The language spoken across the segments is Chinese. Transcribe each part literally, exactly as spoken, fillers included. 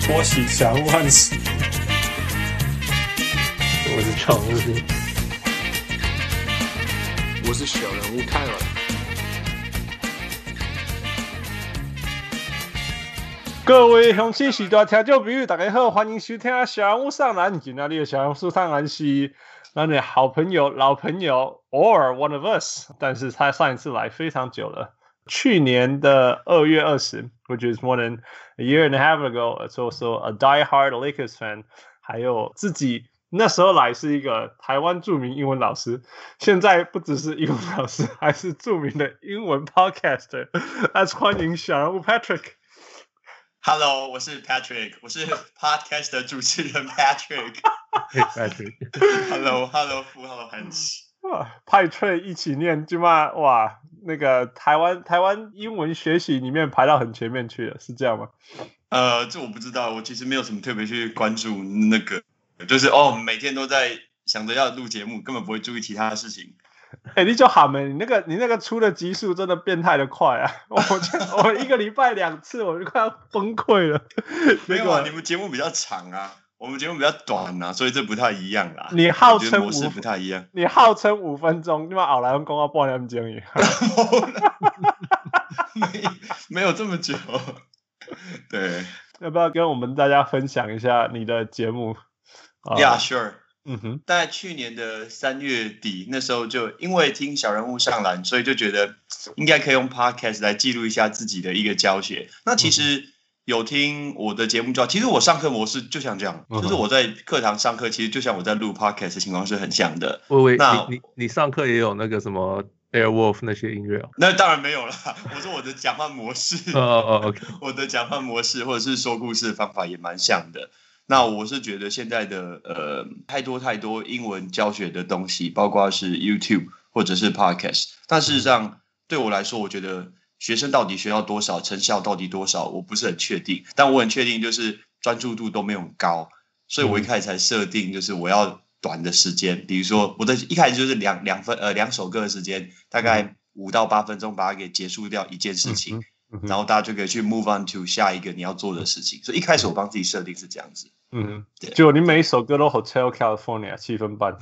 說起小人物漢斯， 我是常務， 我是小人物泰爾。 各位鄉親時代聽眾朋友，大家好，歡迎收聽小人物上籃。今天的小人物上籃是咱的好朋友、老朋友 ，or one of us， 但是他上一次來非常久了。去年的二月二十 ，which is more than a year and a half ago. It's also a die-hard Lakers fan. 還有自己那時候來是一個台灣著名英文老師，現在不只是英文老師，還是著名的英文 podcaster. Let's 歡迎小人物 Patrick。Hello， 我是 Patrick， 我是 podcast 的主持人 Patrick。Hey Patrick。Hello，Hello，Hello Hans。 派翠一起念，就嘛哇，那個台灣台灣英文學習裡面排到很前面去了，是這樣嗎？ 呃，這我不知道，我其實沒有什麼特別去關注那個，就是哦，每天都在想着要錄節目，根本不會注意其他的事情。 哎、欸，你就喊沒，你那個你那個出的集數真的變態的快啊！我我一個禮拜兩次，我就快要崩潰了。 沒有啊，你們節目比較長啊。我們節目比較短啊，所以這不太一樣啦。 你號稱模式不太一樣。 你號稱五分鐘，你把後來用講到半點鐘而已。 沒沒有這麼久。對， 要不要跟我們大家分享一下你的節目 ？Yeah, sure。 嗯哼， 在去年的三月底，那時候就因為聽小人物上籃，所以就覺得應該可以用 podcast 來記錄一下自己的一個教學。那其實。嗯有聽我的節目就好，其實我上課模式就像這樣，嗯、就是我在課堂上課，其實就像我在錄 podcast 的情況是很像的。 喂喂，那你你你上課也有那個什麼 Airwolf 那些音樂哦？ 那當然沒有了，我說我的講話模式， 哦哦 OK， 我的講話模式或者是說故事的方法也蠻像的。那我是覺得現在的呃太多太多英文教學的東西，包括是 YouTube 或者是 podcast， 但事實上對我來說，我覺得。學生到底學到多少，成效到底多少，我不是很確定。但我很確定，就是專注度都沒有很高，所以我一開始才設定，就是我要短的時間，比如說我的一開始就是兩兩分呃兩首歌的時間，大概五到八分鐘把它給結束掉一件事情，然後大家就可以去 move on to 下一個你要做的事情。所以一開始我幫自己設定是這樣子。嗯，對。 就你每一首歌都 Hotel California 七分半。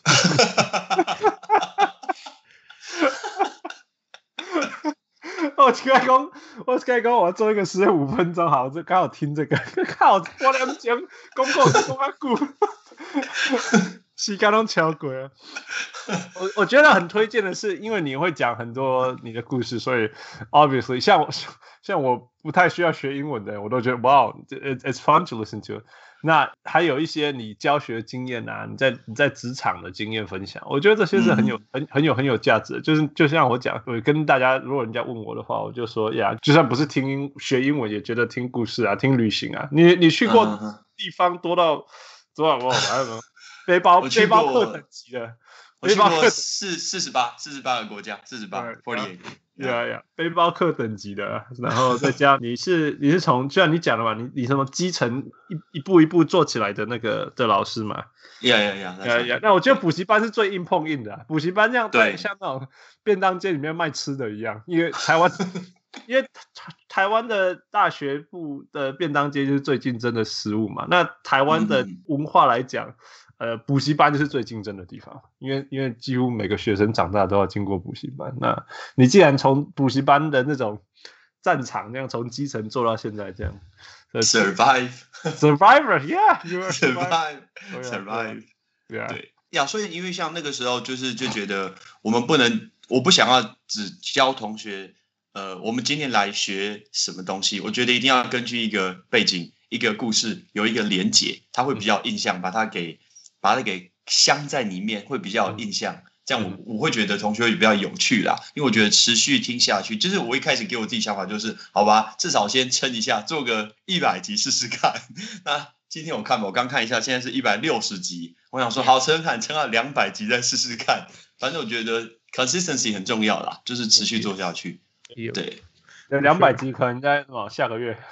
我剛才講，我剛才講，我要做一個時間五分鐘，好，就剛好聽這個。靠，我兩講公告都講啊久，時間都超過了。我我覺得很推薦的是，因為你會講很多你的故事，所以 obviously 像我像我不太需要學英文的人，我都覺得 wow it, it's fun to listen to。那還有一些你教學經驗啊，你在你在職場的經驗分享，我覺得這些是很有、嗯、很很有很有價值的。就是就像我講，我跟大家，如果人家問我的話，我就說呀，就算不是聽英學英文，也覺得聽故事啊，聽旅行啊，你你去過地方多到多少？我還有沒有背包背包客等級的？ 我去過四四十八四十八個國家，四十八 forty-eight。 對啊，呀，背包客等級的，然後再加你是你是從就像你講的嘛，你你什麼基層一一步一步做起來的那個的老師嘛， 呀呀呀呀呀！ 那我覺得補習班是最硬碰硬的、啊，補習班這樣對，像那種便當街裡面賣吃的一樣，因為台灣因為台灣的大學部的便當街就是最競爭的食物嘛，那台灣的文化來講。嗯呃，補習班就是最競爭的地方，因為因為幾乎每個學生長大都要經過補習班。那你既然從補習班的那種戰場這樣從基層做到現在這樣 ，survive survivor yeah you are survive survive 對啊對呀，所以因為像那個時候就是就覺得我們不能，我不想要只教同學，呃，我們今天來學什麼東西，我覺得一定要根據一個背景、一個故事有一個連結，它會比較印象，把它給。把它給鑲在裡面會比較有印象，這樣我我會覺得同學會比較有趣啦，因為我覺得持續聽下去，就是我一開始給我自己想法就是，好吧，至少先撐一下，做個一百集試試看。那今天我看吧，我剛看一下，現在是一百六十集，我想說好撐看，撐到兩百集再試試看。反正我覺得 consistency 很重要啦，就是持續做下去。對， 兩百集可能在往下個月。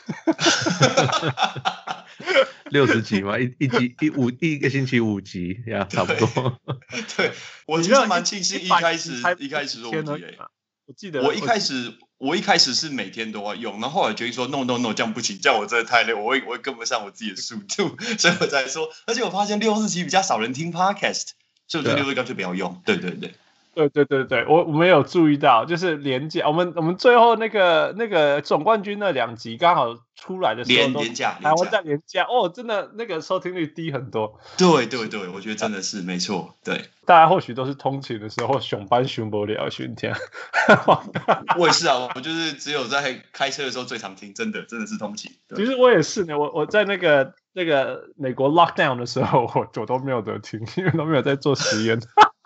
六十集嘛，一一集一五一個星期五集呀，差不多。 對，我其實蠻慶幸一開始一開始做五集誒。 我記得我一開始我一開始是每天都要用，然後後來決定說 no no no 這樣不行，這樣我真的太累，我會我會跟不上我自己的速度，所以我才說。而且我發現六日期比較少人聽 podcast， 所以我就六日乾脆不要用。對對對。 對對對對，我我沒有注意到，就是連假，我們我們最後那個那個總冠軍那兩集剛好出來的時候都， 連假， 台灣在連假，哦，真的那個收聽率低很多。 對對對，我覺得真的是沒錯。對， 大家或許都是通勤的時候上班上不了，尋天。 我也是啊，我就是只有在開車的時候最常聽，真的真的是通勤。 其實我也是呢，我我在那個那個美國 lockdown 的時候，我我都沒有得聽，因為都沒有在做實驗。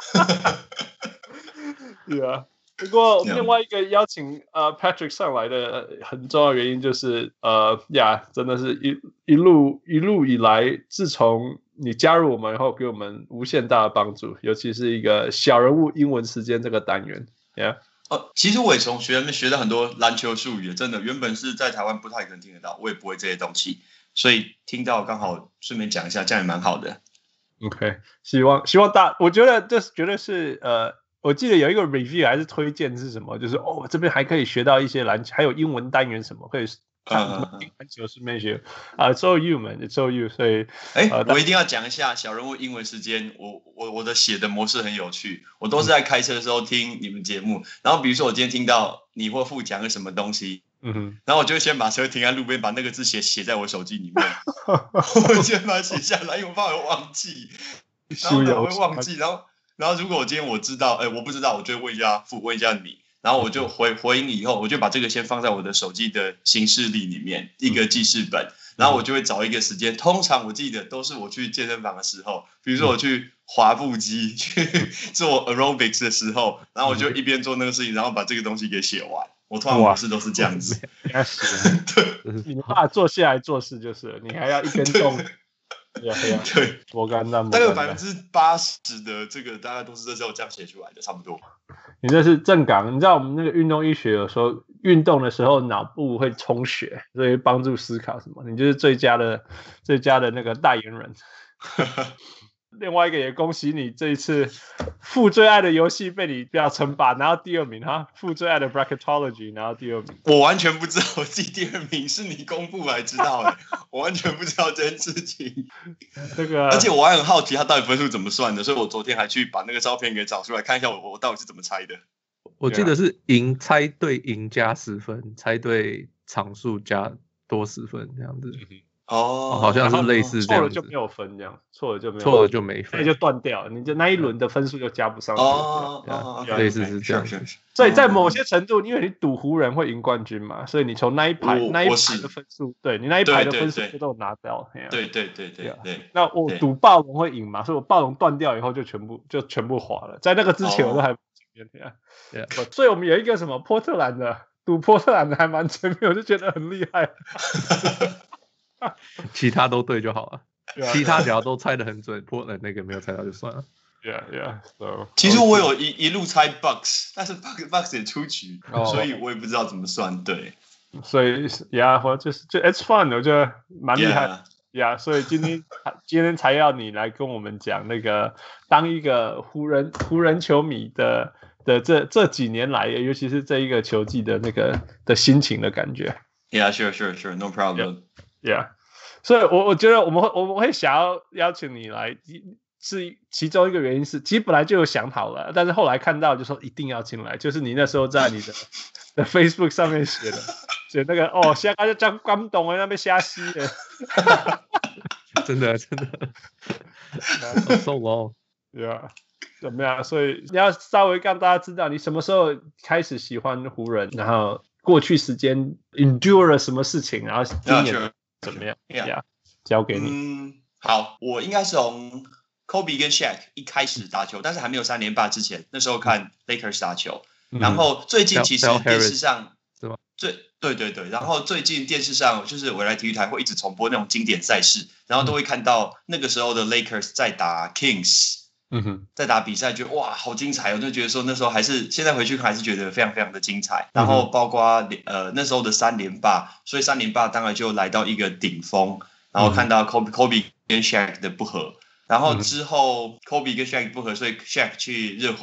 對啊，不過另外一個邀請呃 Patrick 上來的很重要的原因就是呃呀，真的是一一路一路以來，自從你加入我們以後，給我們無限大的幫助，尤其是一個小人物英文時間這個單元。Yeah. 哦，其實我也從學員們學到很多籃球術語，真的原本是在台灣不太可能聽得到，我也不會這些東西，所以聽到剛好順便講一下，這樣也蠻好的。 OK， 希望希望大，我覺得這是絕對是呃。我記得有一個 review 還是推薦是什麼，就是哦這邊還可以學到一些籃球，還有英文單元什麼可以看籃球順便學啊 ，It's all you man, It's all you。所以， 哎、呃，我一定要講一下小人物英文時間，我我我的寫的模式很有趣，我都是在開車的時候聽你們節目，嗯、然後比如說我今天聽到你或副講個什麼東西，嗯哼，然後我就會先把車停在路邊，把那個字寫寫在我手機裡面，我先把它寫下來，因為我怕我忘記，然後我會忘記，然後。然後如果我今天我知道，哎，我不知道，我就問一下父，問一下你，然後我就回回應以後，我就把這個先放在我的手機的行事曆裡面，一個記事本，然後我就會找一個時間，通常我記得都是我去健身房的時候，比如說我去滑步機去做 aerobics 的時候，然後我就一邊做那個事情，然後把這個東西給寫完。我通常模式都是這樣子。 對，你沒辦法坐下來做事就是，你還要一根動。對啊，對，我剛剛大概百分之八十的這個大概都是這時候這樣寫出來的，差不多。 你這是正港，你知道我們那個運動醫學有時候運動的時候腦部會充血，所以幫助思考什麼，你就是最佳的最佳的那個代言人。另外一個也恭喜你這一次父最愛的遊戲被你不要稱霸，拿到第二名哈。父最愛的 bracketology 拿到第二名， 我完全不知道我自己第二名是你公布來知道的，我完全不知道這件事情。 這個， 而且我還很好奇他到底分數怎麼算的，所以我昨天還去把那個照片給找出來看一下我，我我到底是怎麼猜的。 我記得是贏猜對贏加十分，猜對場數加多十分這樣子。 哦， 好像是類似這樣子，錯了就沒有分這樣，錯了就沒有， 錯了就沒分， 那就斷掉，你就那一輪的分數就加不上去。 哦哦， 類似是這樣。 所以在某些程度，因為你賭湖人會贏冠軍嘛，所以你從那一排那一排的分數，對你那一排的分數都有拿掉。 對對對對對。 那我賭暴龍會贏嘛，所以我暴龍斷掉以後就全部就全部滑了，在那個之前我都還前面。對，所以我們有一個什麼波特蘭的賭波特蘭的還蠻前面，我就覺得很厲害。 其他都對就好了， yeah, 其他只要都猜得很準，破了那個沒有猜到就算了。 Yeah, yeah. So, 其實我有一一路猜 Bucks， 但是 Bucks Bucks 也出局， oh. 所以我也不知道怎麼算。對， 所以 Yeah， 我就是就 It's fun， 我覺得蠻厲害。Yeah， 所以今天今天才要你來跟我們講那個當一個湖人湖人球迷的的這這幾年來，尤其是這一個球季的那個的心情的感覺。 Yeah, sure, sure, sure, no problem.Yeah， 所以我我覺得我們會我們會想要邀請你來，是其中一個原因是，其實本來就有想好了，但是後來看到就說一定要進來，就是你那時候在你的的 Facebook 上面寫的，寫那個哦，現在就講感動的那邊瞎吸的， 真的真的 ，so long，yeah， 怎麼樣？所以你要稍微讓大家知道你什麼時候開始喜歡湖人，然後過去時間 endure 了什麼事情，然後今年。怎麼樣 ？Yeah，, yeah. 交給你。 嗯，好，我應該是從 Kobe 跟 Shaq 一開始打球，但是還沒有三連霸之前，那時候看 Lakers 打球。嗯、然後最近其實電視上，是嗎？最對對對，然後最近電視上就是未來體育台會一直重播那種經典賽事，然後都會看到那個時候的 Lakers 在打 Kings。嗯哼，在打比賽，覺得哇，好精彩！我就覺得說那時候還是現在回去看還是覺得非常非常的精彩。然後包括呃那時候的三連霸，所以三連霸當然就來到一個頂峰。然後看到 Kobe Kobe 跟 Shaq 的不合，然後之後 Kobe 跟 Shaq 不合，所以 Shaq 去熱火，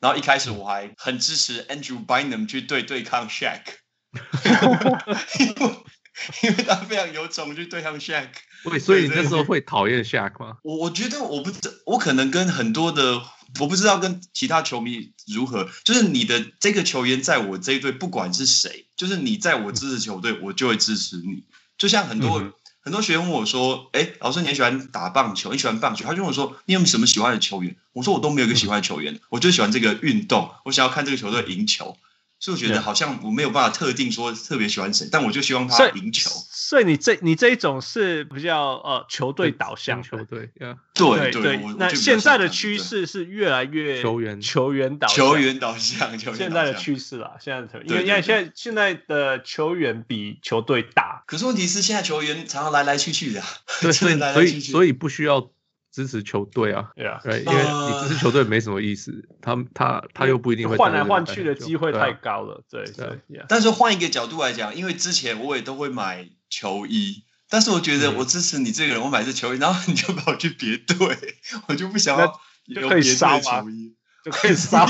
然後一開始我還很支持 Andrew Bynum 去對對抗 Shaq， 因為因為他非常有種去對抗 Shaq。 對，所以你那時候會討厭 Shaq 嗎？ 我我覺得我不知，我可能跟很多的。我不知道跟其他球迷如何，就是你的這個球員在我這一隊，不管是誰，就是你在我支持球隊，我就會支持你。就像很多、嗯、很多學員問我說：“哎，老師，你很喜歡打棒球，你喜歡棒球？”他就問我說：“你有沒有什麼喜歡的球員？”我說：“我都沒有一個喜歡的球員，我就喜歡這個運動，我想要看這個球隊贏球。”所以我覺得好像我沒有辦法特定說特別喜歡誰，但我就希望他贏球。 所以你這你這一種是比較呃球隊導向球隊， 對對對。那現在的趨勢是越來越球員球員導向球員導向， 現在的趨勢啦，現在的因為因為現在現在的球員比球隊大。 可是問題是現在球員常常來來去去的， 對，所以所以所以不需要支持球隊啊，對啊，因為你支持球隊沒什麼意思，他他他又不一定會換來換去的機會太高了，對對。 但是換一個角度來講，因為之前我也都會買球衣，但是我覺得我支持你這個人，我買這球衣，然後你就把我去別隊，我就不想要有別隊的球衣， 就可以燒。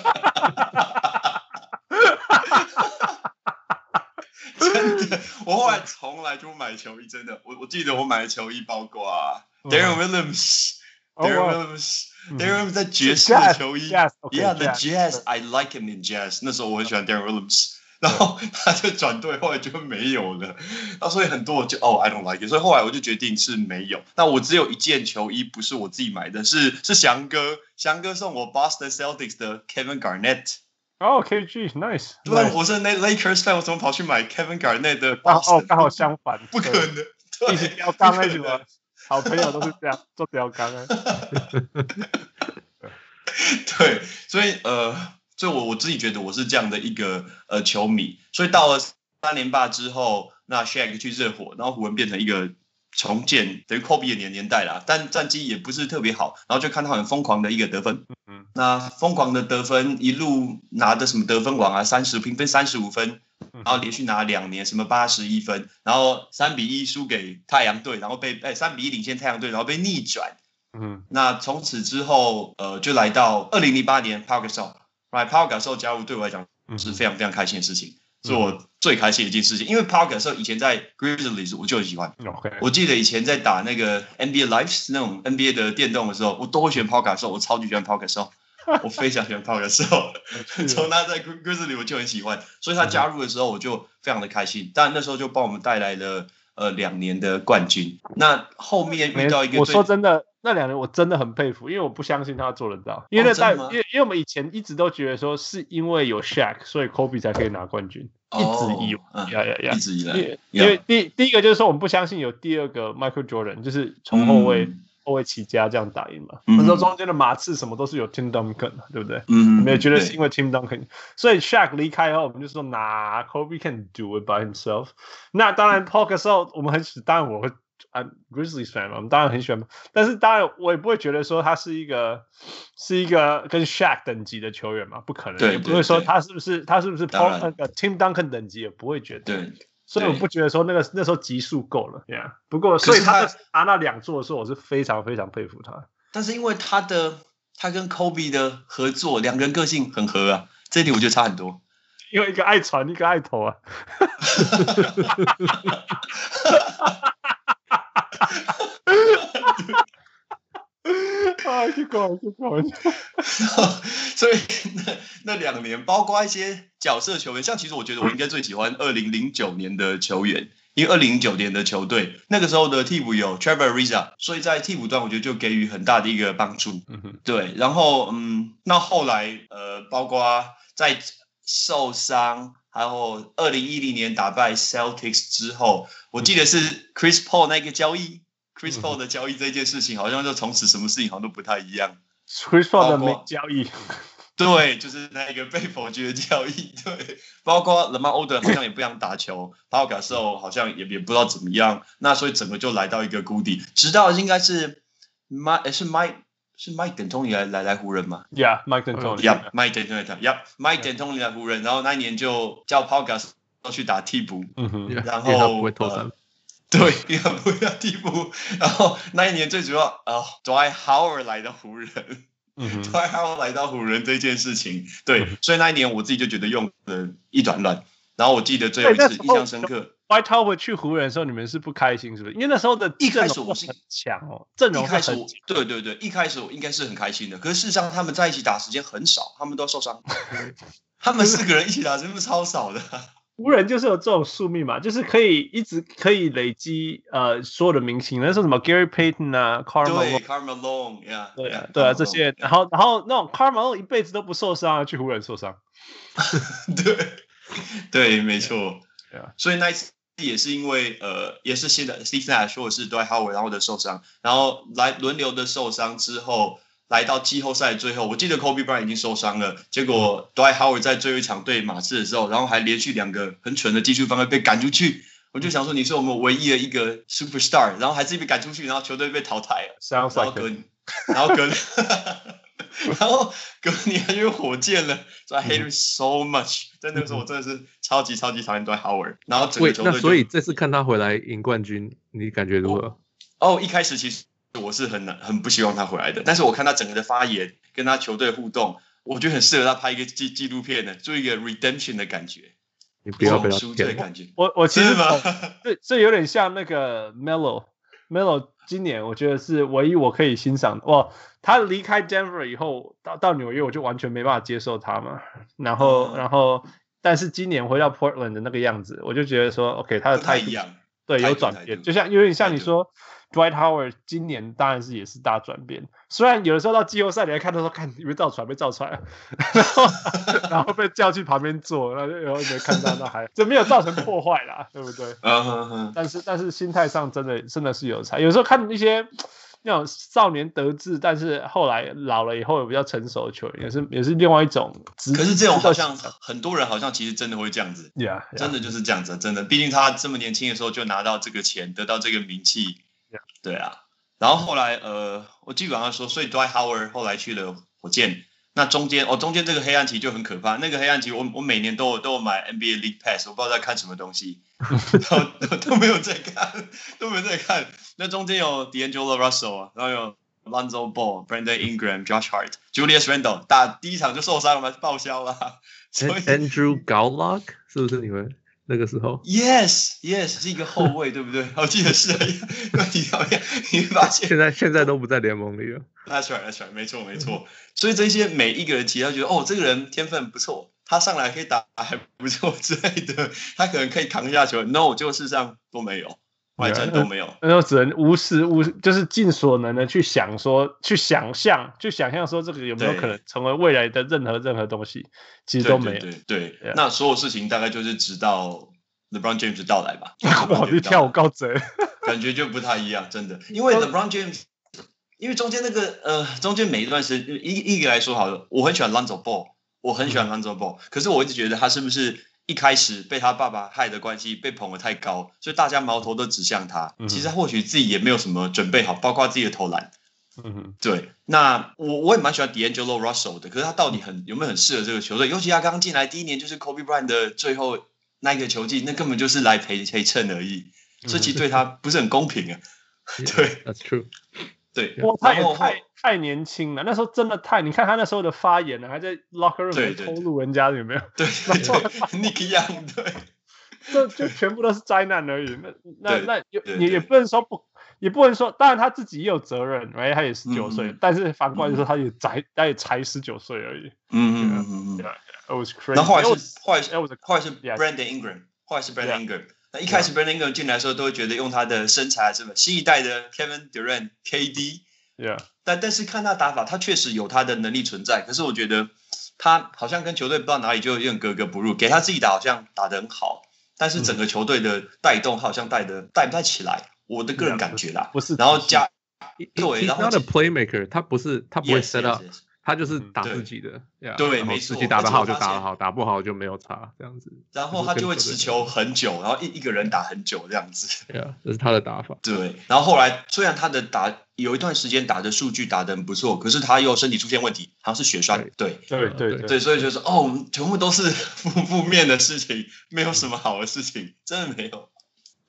真的，我後來從來就買球衣，真的，我我記得我買的球衣包括啊。Darren Williams，Darren Williams，Darren Williams 在爵士的球衣 ，Yeah，the Jazz，I like him in Jazz。那時候我很喜歡 Darren Williams， 然後他就轉隊，後來就沒有了。那所以很多我就哦 ，I don't like it。所以後來我就決定是沒有。那我只有一件球衣，不是我自己買的，是是翔哥，翔哥送我 Boston Celtics 的 Kevin Garnett。 哦 ，K G，nice。 對，我是那 Lakers fan，我怎麼跑去買 Kevin Garnett 的 Boston？哦，剛好相反， 不可能， 一起標杆那什麼。好朋友都是這樣做標杆啊。 對，所以呃，所以我我自己覺得我是這樣的一個呃球迷。所以到了三連霸之後，那 Shaq 去熱火，然後湖人變成一個重建，等於 Kobe 的年年代啦，但戰績也不是特別好，然後就看他很瘋狂的一個得分。嗯，那瘋狂的得分一路拿的什麼得分王啊，三十評分三十五分。然後連續拿兩年，什麼八十一分，然後三比一輸給太陽隊，然後被哎三比一領先太陽隊，然後被逆轉。嗯，那從此之後，呃，就來到二零零八年 Pau Gasol，right Pau Gasol 加入對我來講是非常非常開心的事情，是我最開心的一件事情。因為 Pau Gasol 以前在 Grizzlies 我就很喜歡。Okay. 我記得以前在打那個 N B A Live 那種 N B A 的電動的時候，我都會選 Pau Gasol，我超級喜歡 Pau Gasol。我非常喜歡 Pau Gasol，從他在 Grizzlies 我就很喜歡，所以他加入的時候我就非常的開心。但那時候就幫我們帶來了呃兩年的冠軍。那後面遇到一個， 我說真的，那兩年我真的很佩服，因為我不相信他做得到。因為在、哦、因為因為我們以前一直都覺得說是因為有 Shaq， 所以 Kobe 才可以拿冠軍，哦、一直以為， 嗯、呀呀呀一直以來。因為, 因為第第一個就是說我們不相信有第二個 Michael Jordan， 就是從後衛。嗯後衛起家這樣打贏嘛？那時候中間的馬刺什麼都是有 Tim Duncan， 對不對？嗯，我們也覺得是因為 Tim Duncan， 所以 Shaq 離開後，我們就說，那 Kobe can do it by himself。那當然 Pau Gasol 我們很喜，當然我會啊 Grizzlies fan 嘛，我們當然很喜歡。但是當然我也不會覺得說他是一個是一個跟 Shaq 等級的球員嘛，不可能。對，也不會說他是不是他是不是 Paul 那個 Tim Duncan 等級，也不會覺得。 對。 所以我不覺得說那個那時候級數夠了，yeah. 不過所以他拿那兩座的時候，我是非常非常佩服他。 但是因為他的他跟 Kobe 的合作，兩個人個性很合啊，這一點我覺得差很多。 因為一個愛傳，一個愛投啊。啊，去搞去搞！ 所以那那兩年，包括一些角色球員，像其實我覺得我應該最喜歡二零零九年的球員，因為二零零九年的球隊那個時候的替補有 Trevor Ariza， 所以在替補端我覺得就給予很大的一個幫助。嗯哼，對。然後嗯，那後來呃，包括在受傷，還有二零一零年打敗 Celtics 之後，我記得是 Chris Paul 那個交易。Chris Paul 的交易這件事情，好像就從此什麼事情好像都不太一樣。 Chris Paul 的沒交易， 對，就是那個被否決的交易。對，包括 Lamar Odom 好像也不想打球，Pau Gasol 好像也也不知道怎麼樣。那所以整個就來到一個谷底。直到應該是 Mike 是 Mike 是 Mike D'Antoni 來來來湖人嘛 ？Yeah, Mike D'Antoni. Yeah, Mike D'Antoni. Yeah, Mike D'Antoni 來湖人，然後那一年就叫 Pau Gasol 去打替補，嗯哼，然後他不會投三。 對，因為不要替補，然後那一年最主要啊、哦、，Dwight Howard 來的湖人， Dwight Howard 來到湖人這件事情，對，嗯、所以那一年我自己就覺得用的一團亂。然後我記得最後一次印象深刻 ，Dwight Howard 去湖人的時候，你們是不開心是不是？因為那時候的一開始我是很強哦，陣容一開始我對對對，一開始我應該是很開心的。可是事實上他們在一起打時間很少，他們都受傷。他們四個人一起打時間超少的。 湖人就是有這種宿命嘛，就是可以一直可以累積呃所有的明星，那時候什麼 Gary Payton 啊 ，Karl Malone，Karl Malone，yeah， 對啊，對啊，這些，然後然後那種 Karl Malone 一輩子都不受傷，去湖人受傷。 對，對，沒錯。所以那一次也是因為呃，也是現在 Steve Nash 說的是 Dwight Howard 然後的受傷，然後來輪流的受傷之後。來到季後賽最後，我記得 Kobe Bryant 已經受傷了，結果 Dwight Howard 在最後一場對馬刺的時候，然後還連續兩個很蠢的技術犯規被趕出去。我就想說，你是我們唯一的一個 superstar， 然後還自己被趕出去，然後球隊被淘汰了。然後隔，然後隔，然後隔年還有火箭了，所以 I hate him so much。在那個時候，我真的是超級超級討厭 Dwight Howard。然後整個球隊， 那所以這次看他回來贏冠軍，你感覺如何？ 哦，一開始其實。我是很難很不希望他回來的，但是我看他整個的發言，跟他球隊互動，我覺得很適合他拍一個紀紀錄片的，做一個 redemption 的感覺。 你不要不要贖罪的感覺。 我我其實這這有點像那個 Melo Melo 今年我覺得是唯一我可以欣賞的。哇，他離開 Denver 以後到到紐約，我就完全沒辦法接受他嘛。然後、嗯、然後但是今年回到 Portland 的那個樣子，我就覺得說 OK 他的態度對有轉變，就像有點像你說。Dwight Howard 今年當然是也是大轉變，雖然有的時候到季後賽你還看到說，看有沒有造船被造出來，然後然後被叫去旁邊坐，然後然後沒看到那還這沒有造成破壞啦，對不對？嗯嗯嗯。但是但是心態上真的真的是有差，有時候看一些那種少年得志，但是後來老了以後有比較成熟的球員，也是也是另外一種。 可是這種好像很多人好像其實真的會這樣子 ，yeah, yeah. 真的就是這樣子，真的，畢竟他這麼年輕的時候就拿到這個錢，得到這個名氣。對啊，然後後來呃，我基本上說，所以 Dwight Howard 後來去了火箭。那中間哦，中間這個黑暗期就很可怕。那個黑暗期我，我我每年都有都有買 N B A League Pass， 我不知道在看什麼東西，都都沒有在看，都沒有在看。那中間有 D'Angelo Russell 啊，然後有 Lonzo Ball、Brandon Ingram、Josh Hart、Julius Randle， 打第一場就受傷了嘛，報銷了。所以 Andrew Gallagher 是不是你們？那個時候 ，Yes Yes 是一個後衛，對不對？我記得是，你發現你發現現在現在都不在聯盟裡了。 That's right, That's right，沒錯沒錯。所以這些每一個人其實他覺得哦，這個人天分不錯，他上來可以打還不錯之類的，他可能可以扛下球。No， 就事實上都沒有，完全都沒有。 那就只能無時無就是盡所能的去想說，去想象，去想象說這個有沒有可能成為未來的任何任何東西，其實都沒有。 對對對，對， yeah. 那所有事情大概就是直到 LeBron James 到來吧。 哇，你跳舞高賊， 感覺就不太一樣，真的。因為 LeBron James， 因為中間那個呃，中間每一段時間，一一個來說好了，我很喜歡 Lonzo Ball， 我很喜歡 Lonzo Ball，、嗯、可是我一直覺得他是不是一開始被他爸爸害的關係，被捧得太高，所以大家矛頭都指向他。嗯、其實他或許自己也沒有什麼準備好，包括自己的投籃。嗯哼，對。那我我也蠻喜歡 D'Angelo Russell 的，可是他到底很有沒有很適合這個球隊？尤其他剛進來第一年就是 Kobe Bryant 的最後那一個球季，那根本就是來陪陪襯而已，所以其實對他不是很公平啊。對 ，That's true。 對， 他也太太年輕了，那時候真的太……你看他那時候的發言呢，還在 locker room 裡偷錄人家，有沒有？ 對對對 ，Nick Young， 對， 這就全部都是災難而已。那那那也也不能說不，也不能說，當然他自己也有責任，哎，他也十九歲，但是反過來說，他也才他也才十九歲而已。嗯嗯嗯嗯。It was crazy。 然後後來是後來是後來是 Brandon Ingram， 後來是 Brandon Ingram。那一開始 Brandon Ingram 進來的時候，都會覺得用他的身材是吧？新一代的 Kevin Durant、K D。Yeah. 但但是看他打法，他確實有他的能力存在。可是我覺得他好像跟球隊不知道哪裡就有點格格不入。給他自己打好像打得很好，但是整個球隊的帶動好像帶的帶不太起來。我的個人感覺啦， 不是。 然後加對，然後他的 playmaker， 他不是他不會 set up。Yes, yes, yes.他就是打自己的， 嗯、yeah, 對，沒錯， 自己打得好就打得好，打不好就沒有差，這樣子。 然後他就會持球很久，然後一一個人打很久這樣子。 對啊，這是他的打法。 對，然後後來雖然他的打有一段時間打的數據打得很不錯，可是他又身體出現問題，好像是血栓。對對對 對, 對， 對，所以就是哦，全部都是負負面的事情，沒有什麼好的事情，真的沒有。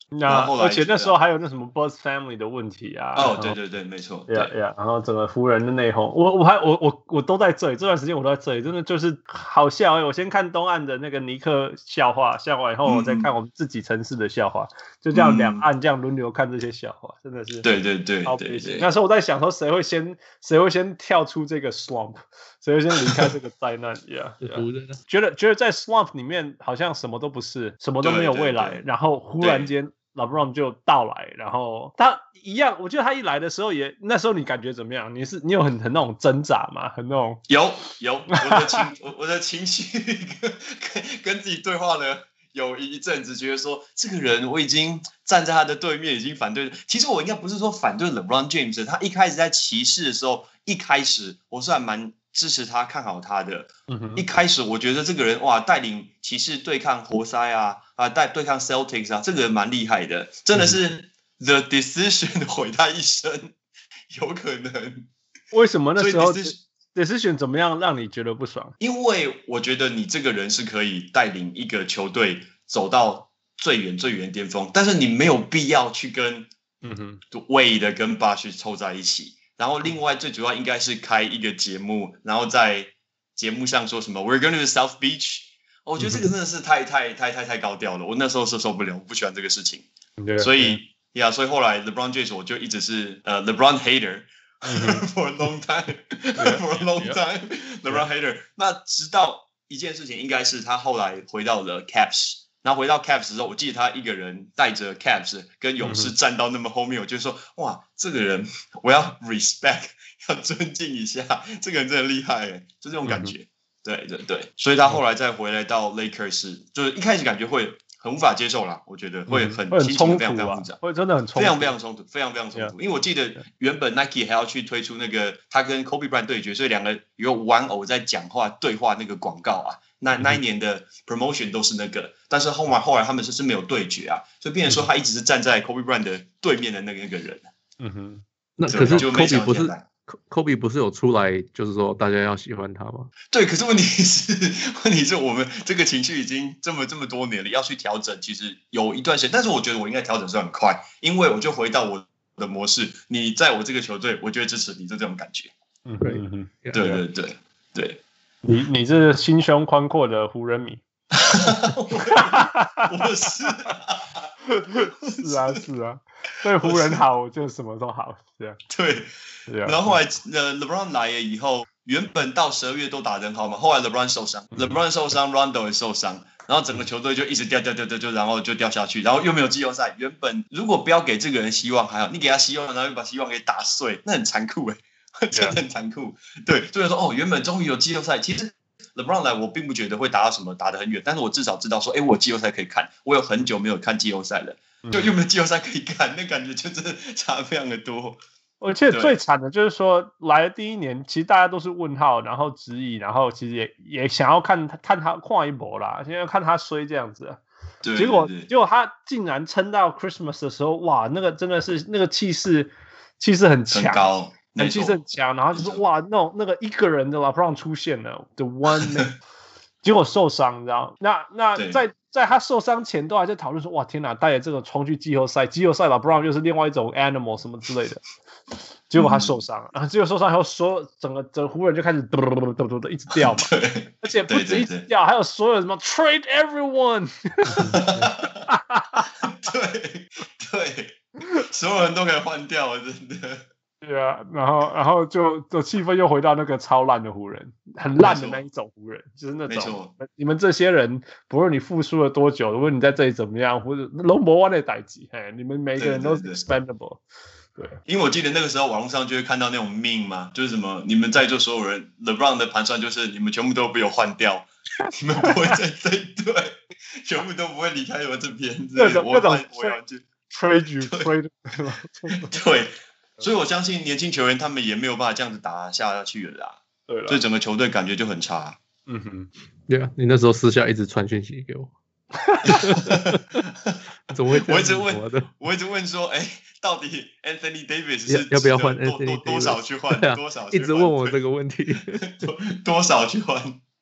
那而且那時候還有那什麼 Buzz Family 的問題啊。 哦，對對對，沒錯。 對呀，然後整個湖人的內訌，我我還我我我都在這裡，這段時間我都在這裡，真的就是好笑哎！我先看東岸的那個尼克笑話，笑完以後我再看我們自己城市的笑話，嗯、就這樣兩岸這樣輪流看這些笑話，真的是對對對對對。 那時候我在想說，誰會先誰會先跳出這個 swamp， 誰會先離開這個災難呀？覺得覺得在 swamp 裡面好像什麼都不是，什麼都沒有未來，對對對，然後忽然間。LeBron 就到來，然後他一樣，我覺得他一來的時候也，那時候你感覺怎麼樣？你是你有很很那種掙扎嗎？很那種有有，我的情我我的情緒跟跟跟自己對話了有一陣子，覺得說這個人我已經站在他的對面，已經反對。其實我應該不是說反對 LeBron James， 他一開始在騎士的時候，一開始我是還蠻支持他、看好他的。嗯、一開始我覺得這個人哇，帶領騎士對抗活塞啊。啊，帶對抗 Celtics 啊，這個人蠻厲害的，真的是 The Decision 毀他一生，有可能。 為什麼那時候 Decision, Decision 怎麼樣讓你覺得不爽？ 因為我覺得你這個人是可以帶領一個球隊走到最遠最遠的巔峰，但是你沒有必要去跟嗯哼 Wade 跟 Bosh 湊在一起。然後另外最主要應該是開一個節目，然後在節目上說什麼 We're going to South Beach。我覺得這個真的是太太太太太高調了，我那時候是受不了，我不喜歡這個事情，所以呀，所以後來 LeBron James 我就一直是呃 LeBron hater for a long time for a long time LeBron hater。那直到一件事情，應該是他後來回到了 Cavs， 然後回到 Cavs 之後，我記得他一個人帶着 Cavs 跟勇士站到那麼後面，我就說哇，這個人我要 respect， 要尊敬一下，這個人真的厲害耶，就這種感覺。對對對，所以他後來再回來到 Lakers， 就是一開始感覺會很無法接受啦，我覺得會很心情非常非常複雜， 會真的很衝突， 非常非常衝突，非常非常衝突。因為我記得原本 Nike 還要去推出那個他跟 Kobe Bryant 對決，所以兩個有玩偶在講話對話那個廣告啊，那那一年的 promotion 都是那個，但是後來後來他們就是沒有對決啊，所以變成說他一直是站在 Kobe Bryant 的對面的那個那個人。 嗯哼，那可是 Kobe 不是。Kobe 不是有出來，就是說大家要喜歡他嗎？ 對，可是問題是，問題是我們這個情緒已經這麼這麼多年了，要去調整，其實有一段時間。但是我覺得我應該調整是很快，因為我就回到我的模式。你在我這個球隊，我就會支持你，就這種感覺。 嗯哼， 對對對對， 你你是心胸寬闊的湖人迷。 我是、啊， 是啊是啊，對湖人好就什麼都好，這樣對。然後後來呃 LeBron 來了以後，原本到十二月都打得很好嘛，後來 LeBron 受傷 ，LeBron 受傷 ，Rondo 也受傷，然後整個球隊就一直掉掉掉掉掉，然後就掉下去，然後又沒有季後賽。原本如果不要給這個人希望還好，你給他希望，然後又把希望給打碎，那很殘酷哎，真的很殘酷。對，所以說哦，原本終於有季後賽，其實 LeBron 來我並不覺得會打到什麼打得很遠，但是我至少知道說，哎，我有季後賽可以看，我有很久沒有看季後賽了，就又沒有季後賽可以看，那感覺就真的差非常的多。 而且最慘的就是說，來的第一年，其實大家都是問號，然後質疑，然後其實也也想要看他看他看一波啦，現在要看他衰這樣子、啊。對，結果結果他竟然撐到 Christmas 的時候，哇，那個真的是那個氣勢氣勢很強，很高，很氣勢很強，然後就是哇，那種那個一個人的 LeBron 出現了 ，The One Man， 結果受傷，你知道？那那在在他受傷前都還在討論說，哇，天哪，帶着這個衝去季後賽，季後賽 LeBron 又是另外一種 animal 什麼之類的。結果他受傷了，然後結果受傷以後，所有整個整個湖人就開始嘟嘟嘟嘟嘟嘟一直掉嘛，而且不止一直掉，還有所有什麼 trade everyone， 對對，所有人都可以換掉了，真的。 對啊，然後然後就就氣氛又回到那個超爛的湖人，很爛的那一種湖人，就是那種你們這些人，不論你付出了多久，如果你在這裡怎麼樣，或者龍博灣的代誌，嘿，你們每個人都是 expendable。對， 因為我記得那個時候網絡上就會看到那種 meme 嘛，就是什麼你們在座所有人 LeBron 的盤算就是你們全部都被我換掉，你們不會在這一隊，全部都不會離開我這邊， 各種各種我要去 trade you trade， 對，所以我相信年輕球員他們也沒有辦法這樣子打下去了啦，對了，所以整個球隊感覺就很差。 嗯哼，對啊，你那時候私下一直傳訊息給我。怎麼會這樣？ 我一直問，我一直問說，哎，到底 Anthony Davis 是要不要換 Anthony Davis？多少去換？多少？ 一直問我這個問題， 多多少去換？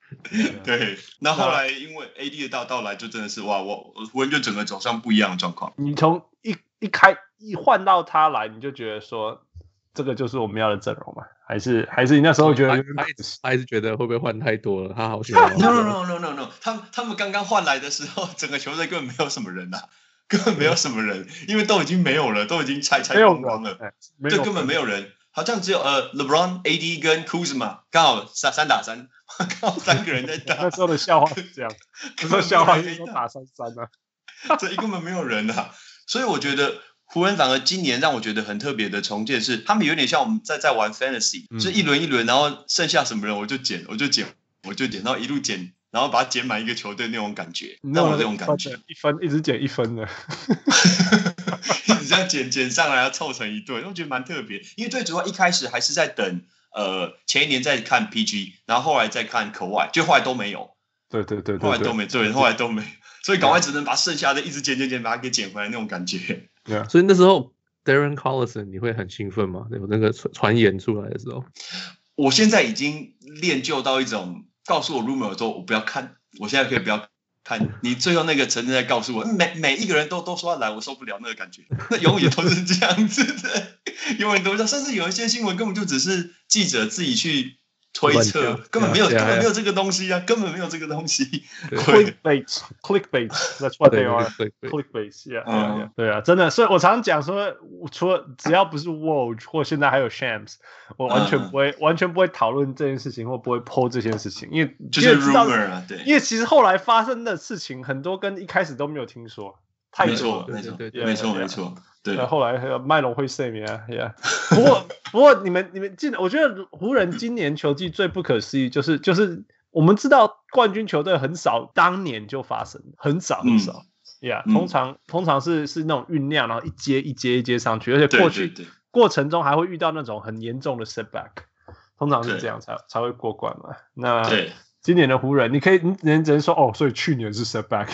對，那後來因為 A D 的到到來，就真的是哇，我湖人就整個走上不一樣的狀況。 你從一一開一換到他來，你就覺得說這個就是我們要的陣容嗎？還是還是你那時候覺得他還是還是覺得會不會換太多了？他好喜歡。 No no no no no no， 他們他們剛剛換來的時候，整個球隊根本沒有什麼人啊，根本沒有什麼人，因為都已經沒有了，都已經拆拆光光了，這根本沒有人。好像只有呃 ，LeBron、A D 跟 Kuzma 剛好三三打三，剛好三個人在打。 那時候的笑話是這樣，那時候笑話是說打三三啊， 這根本沒有人啊。所以我覺得湖人反而今年讓我覺得很特別的重建是，他們有點像我們在在玩 Fantasy，、嗯、就一輪一輪，然後剩下什麼人我就撿，我就撿，我就撿，然後一路撿。然後把它撿滿一個球隊那種感覺，讓我這種感覺， 一分一直撿一分的， 一直這樣撿撿上來，要湊成一隊，我覺得蠻特別。因為最主要一開始還是在等，呃，前一年在看 P G， 然後後來再看 Kawhi，就後來都沒有。 對對對， 後來都沒對，後來都沒，所以趕快只能把剩下的一直撿撿撿，把它給撿回來那種感覺。 對啊，所以那時候 Darren Collison 你會很興奮嗎？有那個傳言出來的時候， 我現在已經練就到一種。告訴我 rumor 說我不要看，我現在可以不要看。你最後那個承認在告訴我，每每一個人都都說要來，我受不了那個感覺。那永遠都是這樣子的，永遠都是這樣。甚至有一些新聞根本就只是記者自己去推測，根本沒有，根本沒有這個東西啊，根本沒有這個東西。 Clickbait, clickbait, that's what they are. Clickbait, yeah, yeah, 對啊，真的。所以我常常講說，除了只要不是 Woj 或現在還有 Shams， 我完全不會，完全不會討論這件事情，或不會 po 這件事情，因為就是 rumor 啊，對。 因為其實後來發生的事情很多跟一開始都沒有聽說，太多了， 沒錯，沒錯，沒錯，沒錯。對， 後來還有麥隆會睡眠啊 ，yeah。不過，不過你們你們記得，我覺得湖人今年球季最不可思議就是就是我們知道冠軍球隊很少當年就發生，很少很少，嗯，yeah，嗯。通常通常是是那種醞釀，然後一階一階一階上去，而且過去對對對過程中還會遇到那種很嚴重的 setback， 通常是這樣才才會過關嘛。那對今年的湖人，你可以你只能說哦，所以去年是 setback。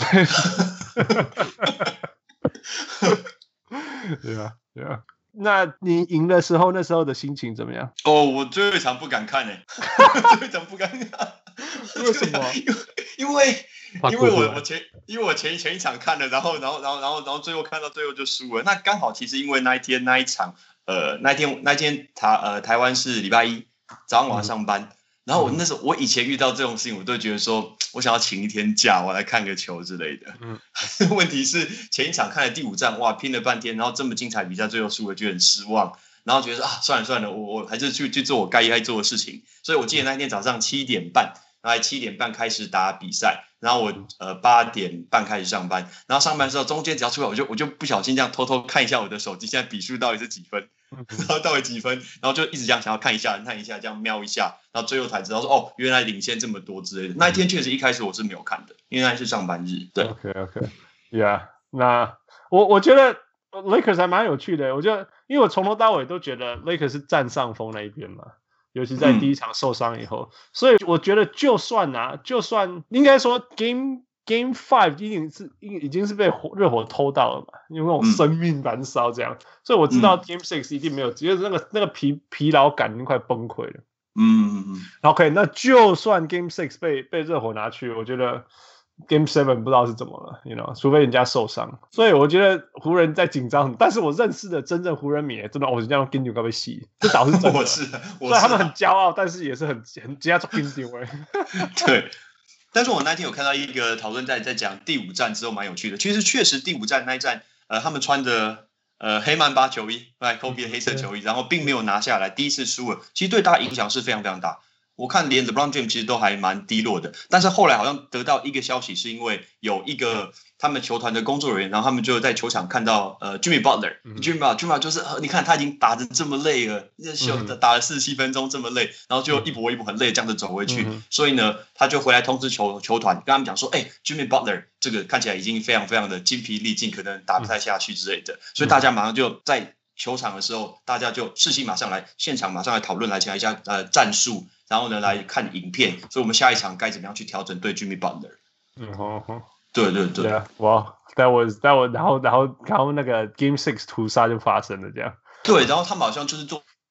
對啊，對啊。那你贏的時候，那時候的心情怎麼樣？ 哦，我最後一場不敢看誒，最後一場不敢看。 為什麼？ 因為因為我我前因為我前前一場看了，然後然後然後然後然後最後看到最後就輸了。那剛好其實因為那一天那一場，呃，那一天那一天台呃台灣是禮拜一早上我要上班。嗯，然後我那時候，我以前遇到這種事情，我都覺得說，我想要請一天假，我來看個球之類的。嗯，問題是前一場看了第五戰，哇，拼了半天，然後這麼精彩比賽，最後輸了，就很失望。然後覺得說啊，算了算了，我我還是去去做我該該做的事情。所以我記得那一天早上七點半，然後七點半開始打比賽，然後我呃八點半開始上班，然後上班的時候中間只要出來，我就我就不小心這樣偷偷看一下我的手機，現在比數到底是幾分。然後到底幾分，然後就一直這樣想要看一下看一下，這樣瞄一下，然後最後才知道說哦，原來領先這麼多之類的。那一天確實一開始我是沒有看的，因為那是上班日。對 ，OK OK，Yeah， 那我我覺得 Lakers 還蠻有趣的。我覺得，因為我從頭到尾都覺得 Lakers 是佔上風那一邊嘛，尤其在第一場受傷以後，嗯，所以我覺得就算啊，就算應該說 Game Game Five 已經是已經是被熱火偷到了嘛，因為那種生命燃燒這樣，嗯，所以我知道 Game Six 一定沒有，就是那個那個疲疲勞感已經快崩潰了。嗯嗯嗯。OK， 那就算 Game Six 被被熱火拿去，我覺得 Game Seven 不知道是怎麼了 ，you know， 除非人家受傷。所以我覺得湖人在緊張，但是我認識的真正湖人迷，真的，我是這樣跟你搞被洗，這倒是真的。 我是，我是， 所以他們很驕傲，但是也是很很加重跟丟哎。 對。但是我那天有看到一個討論在在講第五戰之後蠻有趣的，其實確實第五戰那一戰，呃，他們穿着呃黑曼巴球衣，對 ，Kobe 的黑色球衣，然後並沒有拿下來，第一次輸了，其實對大家影響是非常非常大。我看連 LeBron James 其實都還蠻低落的，但是後來好像得到一個消息，是因為有一個他們球團的工作人員，然後他們就在球場看到呃 Jimmy Butler，Jimmy Butler 就是你看他已經打得這麼累了，打了四十七分鐘這麼累，然後就一跛一跛很累這樣子走回去，所以呢他就回來通知球球團，跟他們講說，哎、欸、，Jimmy Butler 這個看起來已經非常非常的精疲力盡，可能打不太下去之類的，所以大家馬上就在球場的時候，大家就士氣馬上來，現場馬上來討論來講一下呃戰術。然後呢，來看影片，所以我們下一場該怎麼樣去調整對 Jimmy Butler？ 嗯哼哼，對對對， 哇 ，that was that was，然後然後然後那個 Game Six 屠殺就發生了這樣。 對，然後他們好像就是做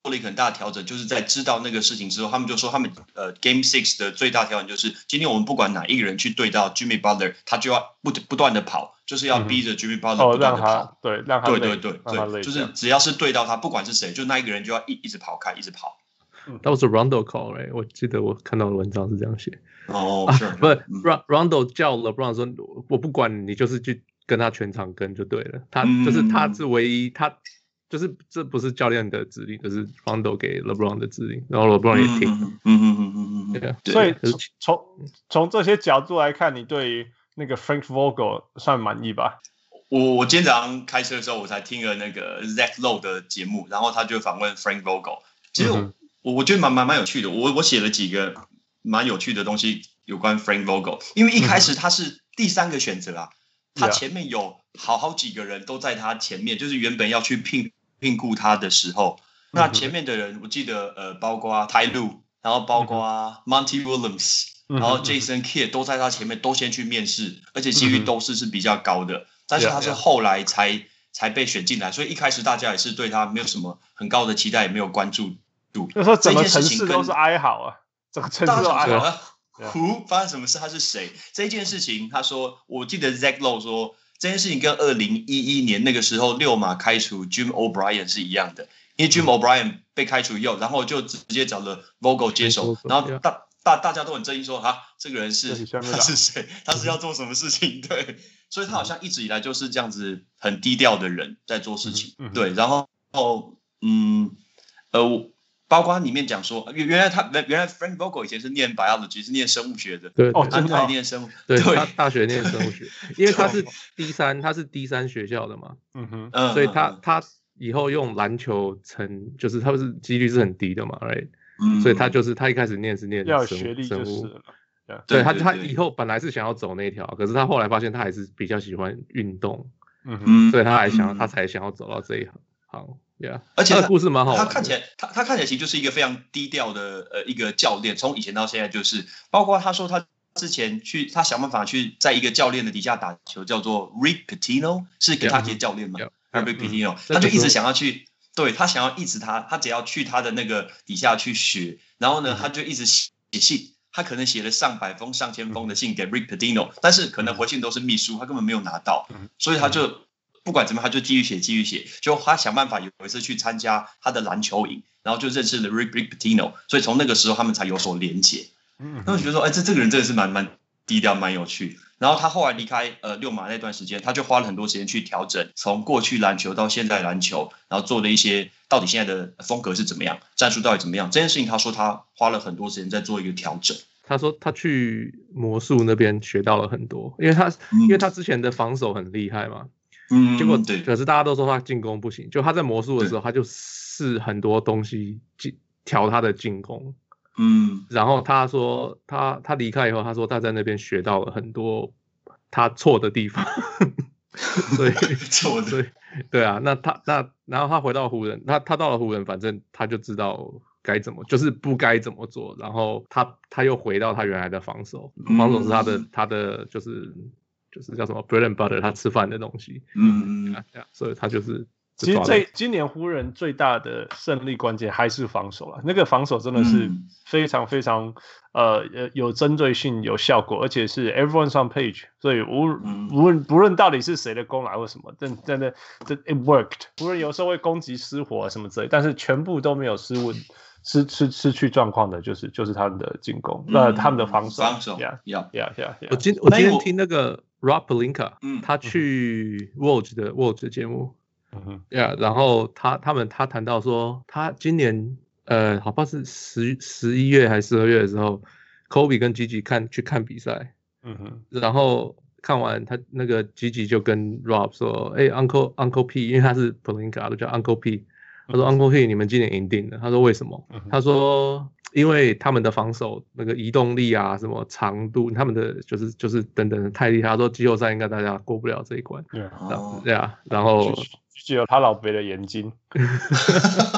了一個很大的調整，就是在知道那個事情之後，他們就說他們呃 Game Six 的最大調整就是今天我們不管哪一個人去對到 Jimmy Butler， 他就要不不斷的跑，就是要逼着 Jimmy Butler 不斷的跑， 嗯、對，讓他對對對對，就是只要是對到他，不管是誰，就那一個人就要一一直跑開，一直跑。 That was a Rondo call, right? 我記得我看到的文章是這樣寫。 哦，是， 不是 Rondo 叫 LeBron 說，我不管你，就是去跟他全場跟就对了。他就是他是唯一，他就是這不是教練的指令，就是 Rondo 給 LeBron 的指令，然後 LeBron 也聽。 嗯嗯嗯嗯嗯嗯。 對，所以從從這些角度來看，你對於那個 Frank Vogel 算滿意吧？ 我我今天早上開車的時候，我才聽了那個 Zach Lowe 的節目，然後他就訪問 Frank Vogel。其實我、嗯、我覺得蠻蠻蠻有趣的，我我寫了幾個蠻有趣的東西有關 Frank Vogel， 因為一開始他是第三個選擇啊，嗯、他前面有好好幾個人都在他前面，就是原本要去聘聘雇他的時候，那前面的人我記得呃，包括 Ty Lue， 然後包括 Monty Williams，、嗯、然後 Jason Kidd 都在他前面都先去面試，而且幾率都是是比較高的，但是他是後來才。Yeah, yeah. 才被選進來，所以一開始大家也是對他沒有什麼很高的期待，也沒有關注度。 就說整個城市都是哀嚎啊，整個城市都哀嚎。 胡發生什麼事？他是誰？這件事情，他說，我記得 Zach Lowe 說，這件事情跟二零一一年那個時候六馬開除 Jim O'Brien 是一樣的，因為 Jim O'Brien 被開除以後，然後就直接找了 Vogel 接手，然後大大大家都很爭議說，哈，這個人是他是誰？他是要做什麼事情？對。所以他好像一直以來就是這樣子很低調的人在做事情，嗯、對，然後嗯呃，包括裡面講說，原來他原來 Frank Vogel 以前是念 biology 是念生物學的， 對， 哦， 他他念生物， 對，對他大學念生物學，因為他是 D 三，他是 D 三學校的嘛，嗯哼，所以他、嗯、他以後用籃球成就是他不是幾率是很低的嘛 ，right，、嗯、所以他就是他一開始念是念生物要學歷就是了。 Yeah, 對, 對, 對, 對他，他以後本來是想要走那條，可是他後來發現他還是比較喜歡運動，嗯哼，所以他還想，嗯、他才想要走到這一行。好 ，Yeah， 而且他的故事蠻好玩的。他看起來，他他看起來其實就是一個非常低調的呃一個教練，從以前到現在就是，包括他說他之前去，他想辦法去在一個教練的底下打球，叫做 Rick Pitino， 是給他接教練嘛 yeah, yeah, Rick Pitino，、嗯、他就一直想要去，對他想要一直他他只要去他的那個底下去學，然後呢，嗯、他就一直寫信。他可能寫了上百封、上千封的信給 Rick Pitino， 但是可能回信都是秘書，他根本沒有拿到，所以他就不管怎麼，他就繼續寫、繼續寫。就他想辦法有一次去參加他的籃球營，然後就認識了 Rick Rick Pitino， 所以從那個時候他們才有所連結。那我覺得說，哎，這這個人真的是蠻蠻低調、蠻有趣。然後他後來離開呃溜馬那段時間，他就花了很多時間去調整，從過去籃球到現在籃球，然後做了一些到底現在的風格是怎麼樣，戰術到底怎麼樣。這件事情他說他花了很多時間在做一個調整。 他說他去魔術那邊學到了很多，因為他、嗯、因為他之前的防守很厲害嘛，嗯，結果可是大家都說他進攻不行，就他在魔術的時候，他就試很多東西調他的進攻。嗯，然後他說他他離開以後，他說他在那邊學到了很多他錯的地方，所以錯的，對對啊，那他那然後他回到湖人，他他到了湖人，反正他就知道該怎麼，就是不該怎麼做，然後他他又回到他原來的防守，防守是他的、嗯、他的就是就是叫什麼 bread and butter， 他吃飯的東西，嗯嗯、啊，所以他就是。 其實這今年湖人最大的勝利關鍵還是防守啦，那個防守真的是非常非常、嗯、呃有針對性、有效果，而且是 everyone's on page， 所以無無論不論到底是誰的功勞或什麼，真真的這 it worked。湖人有時候會攻擊失火啊什麼之類，但是全部都沒有失誤、失失失去狀況的，就是就是他們的進攻，嗯、呃他們的防守。 防守 ，yeah yeah yeah yeah。 我今我今天聽那個 Rob Pelinka，、嗯、他去 Woj 的 Woj 的節目。嗯 yeah, 然後他他們他談到說，他今年呃，好像是十十一月還是十二月的時候 ，Kobe 跟 Gigi 看去看比賽，嗯哼，然後看完他那個 Gigi 就跟 Rob 說，哎、欸、，Uncle Uncle P， 因為他是 Pelinka 都叫 Uncle P， 他說、嗯、Uncle P 你們今年贏定了，他說為什麼？嗯、他說因為他們的防守那個移動力啊，什麼長度，他們的就是就是等等的太厲害，他說季後賽應該大家過不了這一關，對啊，對啊，然後。 只有他老北的眼睛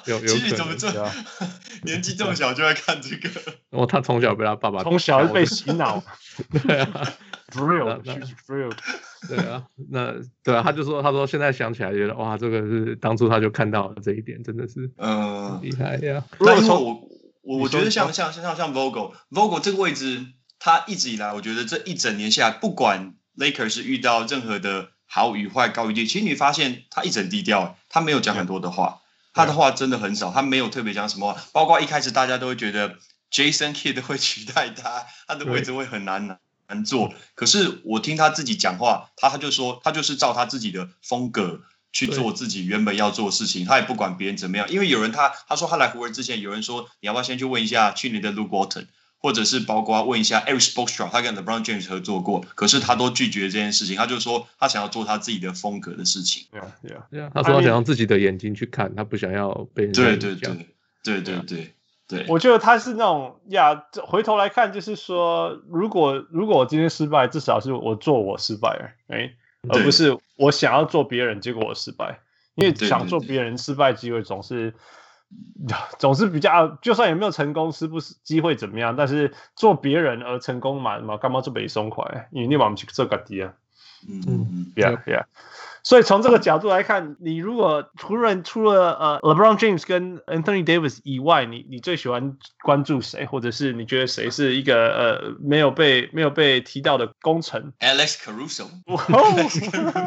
有有可能。 怎麼這年紀這麼小就在看這個？ 哦，他從小被他爸爸從小就被洗腦。 對啊 ，Thrill， Thrill。 对啊，那对啊，他就說，他說現在想起來覺得哇，這個是當初他就看到了這一點，真的是嗯厲害呀。 那因為我我我覺得像像像像 Vogel Vogel 這個位置，他一直以來我覺得這一整年下來，不管 Lakers 是遇到任何的好與壞、高與低，其實你發現他一直很低調，他沒有講很多的話，他的話真的很少，他沒有特別講什麼話，包括一開始大家都會覺得 Jason Kidd 會取代他，他的位置會很難拿。難做，可是我聽他自己講話，他他就說他就是照他自己的風格去做自己原本要做的事情，他也不管別人怎麼樣。因為有人他他說他來湖人之前，有人說你要不要先去問一下去年的 Luke Walton， 或者是包括問一下 Eric Spoelstra， 他跟 LeBron James 合作過，可是他都拒絕這件事情。他就說他想要做他自己的風格的事情。 對啊，對啊，對啊。他說他想用自己的眼睛去看，他不想要被人對對對對對對。對， 我覺得他是那種呀，回頭來看，就是說，如果如果我今天失敗，至少是我做我失敗了，哎，而不是我想要做別人，結果我失敗。因為想做別人失敗機會總是總是比較，就算有沒有成功，是不是機會怎麼樣？但是做別人而成功嘛，嘛幹嘛做北松快？因為你往去做個底啊， 嗯嗯 ，yeah yeah。所以從這個角度來看，你如果除了除了呃 LeBron James 跟 Anthony Davis 以外，你你最喜歡關注誰，或者是你覺得誰是一個呃沒有被沒有被提到的功臣 ？Alex Caruso。Alex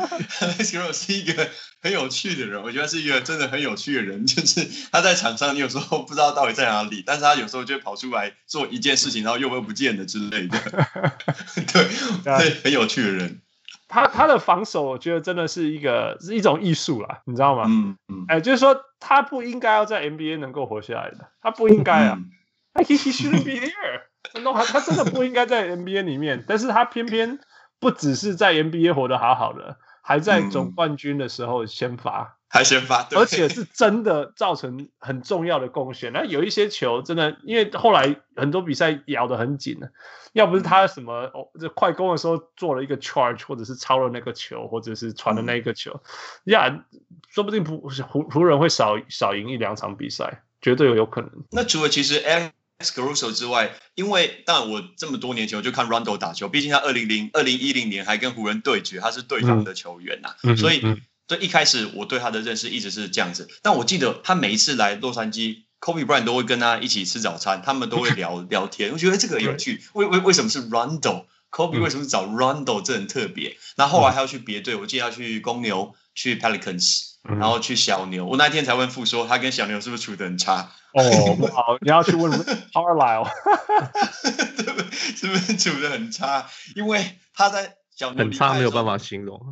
Caruso 是一個很有趣的人，我覺得是一個真的很有趣的人。就是他在場上，你有時候不知道到底在哪裡，但是他有時候就會跑出來做一件事情，然後又會不見了之類的。對對，很有趣的人。 他他的防守，我覺得真的是一個是一種藝術啦，你知道嗎？ 嗯嗯， 哎，就是說他不應該要在 N B A 能夠活下來的，他不應該啊。 嗯、 he he shouldn't be here。No， 他他真的不應該在 N B A 裡面，但是他偏偏不只是在 N B A 活得好好的，還在總冠軍的時候先發， 還先發，對， 而且是真的造成很重要的貢獻。那有一些球真的，因為後來很多比賽咬得很緊了。要不是他什麼哦，這快攻的時候做了一個 charge， 或者是抄了那個球，或者是傳了那個球，呀、嗯，說不定湖湖人會少少贏一兩場比賽，絕對有有可能。 那除了其實 Alex Caruso 之外，因為當然我這麼多年前我就看 Rondo 打球，畢竟他二零零二零一零年還跟湖人對決，他是對方的球員吶、啊嗯，所以對一開始我對他的認識一直是這樣子。但我記得他每一次來洛杉磯。Kobe Bryant 都會跟他一起吃早餐，他們都會聊聊天。我覺得這個很有趣，為為為什麼是 Rondo？Kobe 為什麼是找 Rondo？這很特別。然後後來他要去別隊，我記得要去公牛、去 Pelicans， 然後去小牛。我那天才問傅說，他跟小牛是不是處得很差？ 哦，不好，你要去問 Carlisle， 對不對？是不是處得很差？因為他在小牛很差，沒有辦法形容。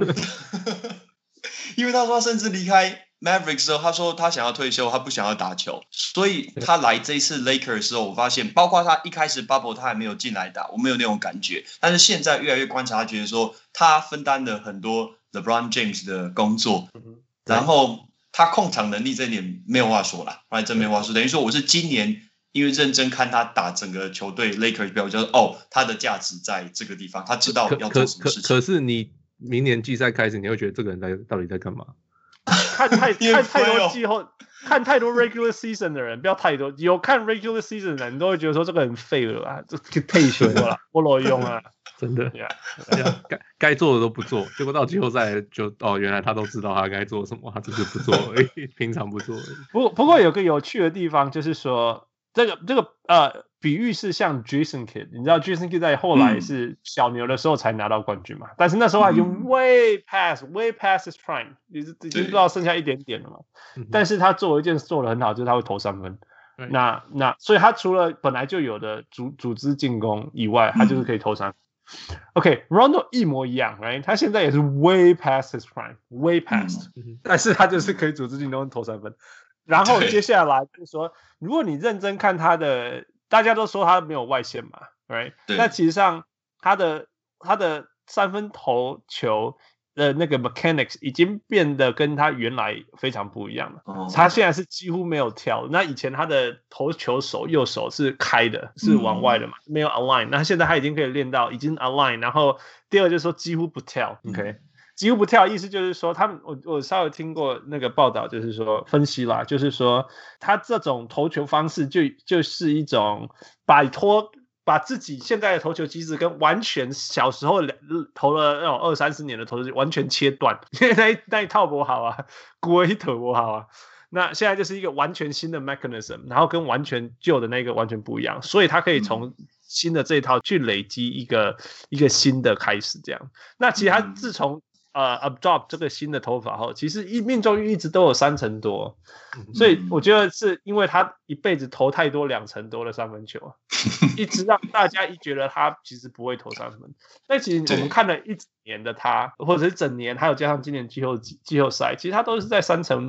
因為他說他甚至離開 Mavericks 時候，他說他想要退休，他不想要打球，所以他來這一次 Lakers 的時候，我發現，包括他一開始 Bubble 他還沒有進來打，我沒有那種感覺，但是現在越來越觀察，他覺得說他分擔了很多 LeBron James 的工作，然後他控場能力這一點沒有話說啦，後來真沒話說，等於說我是今年因為認真看他打整個球隊 Lakers 表，就是哦，他的價值在這個地方，他知道要做什麼事情。 可, 可, 可, 可是你明年季賽開始，你會覺得這個人在到底在幹嘛？ 看太看太多季後，看太多 regular season 的人，不要太多。有看 regular season 的人，你都會覺得說這個人廢了啊，這退休了，不裸用啊， 真的。該該做的都不做，結果到季後賽就哦，原來他都知道他該做什麼，他只是不做而已，平常不做而已。 不不過有個有趣的地方就是說，這個這個呃。比喻是像 Jason Kidd， 你知道 Jason Kidd 在後來是小牛的時候才拿到冠軍嘛？嗯、但是那時候他已經 way past、嗯、way past his prime， 已經已經不知道剩下一點點了嘛。但是他做一件事做得很好，就是他會投三分。那那所以他除了本來就有的組組織進攻以外，他就是可以投三分。嗯、OK，Rondo、okay, 一模一樣 ，right？ 他現在也是 way past his prime，way past，、嗯、但是他就是可以組織進攻投三分。然後接下來就是說，如果你認真看他的。大家都說他沒有外線嘛 ，right？ 那其實上他的他的三分投球的那個 mechanics 已經變得跟他原來非常不一樣了。Oh. 他現在是幾乎沒有跳，那以前他的投球手右手是開的，是往外的嘛，嗯、沒有 align。那現在他已經可以練到已經 align，然後第二就是說幾乎不跳 ，OK？ 幾乎不跳，意思就是說，他們我我稍微聽過那個報道，就是說分析啦，就是說他這種投球方式就就是一種擺脫。把自己現在的投球機制跟完全小時候投了那種二三十年的投球完全切斷，因為那一那一套不好啊，古一頭不好啊。那現在就是一個完全新的 mechanism， 然後跟完全舊的那個完全不一樣，所以他可以從新的這一套去累積一個、嗯、一個新的開始這樣。那其實他自從呃 adopt 這個新的投法後，其實一命中率一直都有三成多，所以我覺得是因為他一輩子投太多兩成多的三分球，一直讓大家一覺得他其實不會投三分。但其實我們看了一整年的他，或者是整年，還有加上今年季後季後賽，其實他都是在三成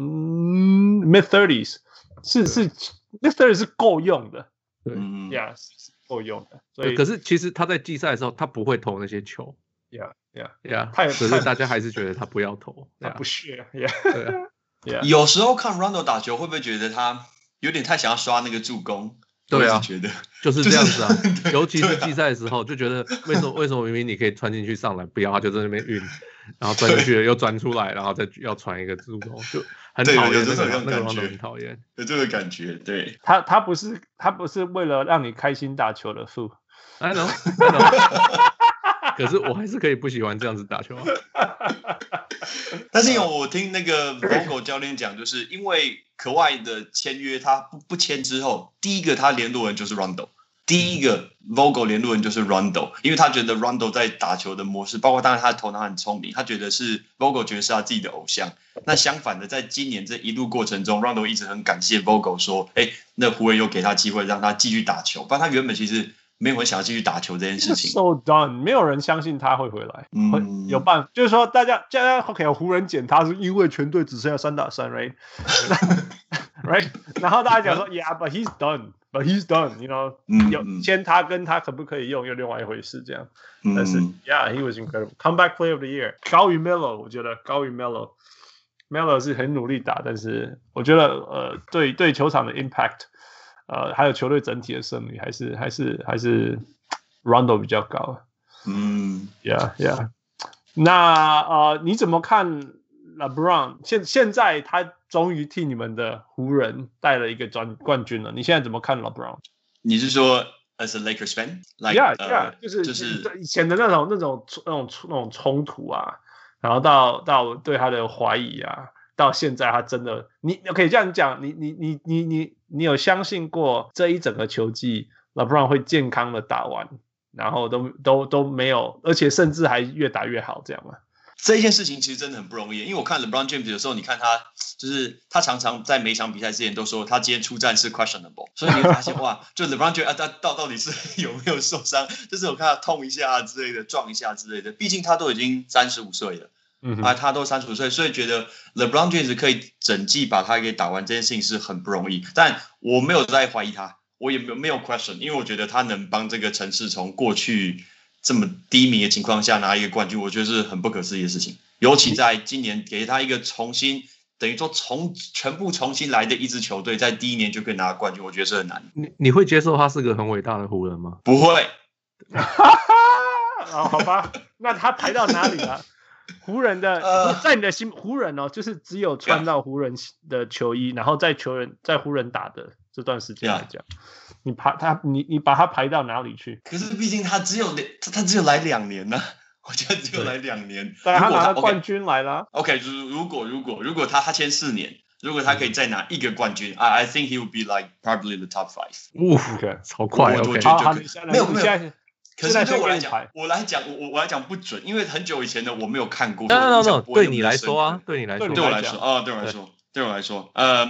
mid thirties， 是是 mid thirties 是夠用的，對呀，是夠用的。所以可是其實他在季賽的時候，他不會投那些球。 Yeah, yeah, yeah. 可是大家還是覺得他不要投， 他不屑。Yeah, yeah. 有時候看 Rondo 打球，會不會覺得他有點太想要刷那個助攻？ 對啊， 覺得就是這樣子啊。就是、尤其是季賽的時候，就覺得為什麼為什麼明明你可以傳進去上來，不要他就在那邊運，然後轉進去了又轉出來，然後再要傳一個助攻，就很討厭。那個那個 Rondo 很討厭， 有這個感覺。對， 他他不是他不是為了讓你開心打球的父。 I know, I know. 可是我還是可以不喜歡這樣子打球啊。 但是因為我聽那個 Vogel 教練講，就是因為可外的簽約他不不簽之後，第一個他聯絡人就是 Rondo， 第一個 Vogel 聯絡人就是 Rondo， 因為他覺得 Rondo 在打球的模式，包括當然他的頭腦很聰明，他覺得是 Vogel 覺得是他自己的偶像。那相反的，在今年這一路過程中 ，Rondo 一直很感謝 Vogel 說，哎，那湖人又給他機會讓他繼續打球，不然他原本其實。沒有人想要繼續打球這件事情。 So done， 沒有人相信他會回來。嗯，會有辦法，就是說大家，大家 OK， 湖人撿他是因為全隊只剩下三打三 ，right？ right？ 然後大家講說 ，Yeah，but he's done，but he's done，you know，、嗯、有簽他跟他可不可以用又另外一回事，這樣。嗯、但是 ，Yeah，he was incredible，comeback player of the year， 高於 Melo， 我覺得高於 Melo，Melo 是很努力打，但是我覺得呃，對對球場的 impact。呃，還有球隊整體的勝率，還是還是還是 Rondo 比較高。嗯 ，Yeah Yeah。那呃，你怎麼看 LeBron？ 現現在他終於替你們的湖人帶了一個冠冠軍了。你現在怎麼看 LeBron？ 你是說 as a Lakers fan？Like, Yeah Yeah，、uh, 就是就是以前的那種那種那種那種衝突啊，然後到到對他的懷疑啊。到現在，他真的，你可以這樣講，你你你你你你有相信過這一整個球季 ，LeBron 會健康的打完，然後都都都沒有，而且甚至還越打越好，這樣嗎？ 這一件事情其實真的很不容易，因為我看 LeBron James 的時候，你看他就是他常常在每場比賽之前都說他今天出戰是 questionable， 所以你會發現哇，就 LeBron James 啊，他到到底是有沒有受傷？就是我看他痛一下啊之類的，撞一下之類的，畢竟他都已經三十五歲了。嗯、啊，他都三十五歲，所以覺得 LeBron James 可以整季把他給打完這件事情是很不容易。但我沒有在懷疑他，我也沒有沒有 question， 因為我覺得他能幫這個城市從過去這麼低迷的情況下拿一個冠軍，我覺得是很不可思議的事情。尤其在今年給他一個重新，等於說從全部重新來的一支球隊，在第一年就可以拿冠軍，我覺得是很難。 你你會接受他是個很偉大的湖人嗎？ 不會。 哦，好吧，那他排到哪裡了？湖人的、呃、在你的心，湖人哦，就是只有穿到湖人的球衣， yeah. 然後在球員在湖人打的這段時間來講， yeah. 你排他，你你把他排到哪裡去？ 可是畢竟他只有他他只有來兩年呢、啊，我覺得只有來兩年。 當然他拿了冠軍來了。 OK， 就是如果如果如果他他簽四年，如果他可以再拿一個冠軍、嗯、，I I think he would be like probably the top five。 嗚 ，OK， 超快 ，OK， 沒有沒有。可是對我來講，我來講，我我來講不準，因為很久以前的我沒有看過。 No no no，對你來說啊，對你來說， 對我來說啊，對我來說，對我來說，呃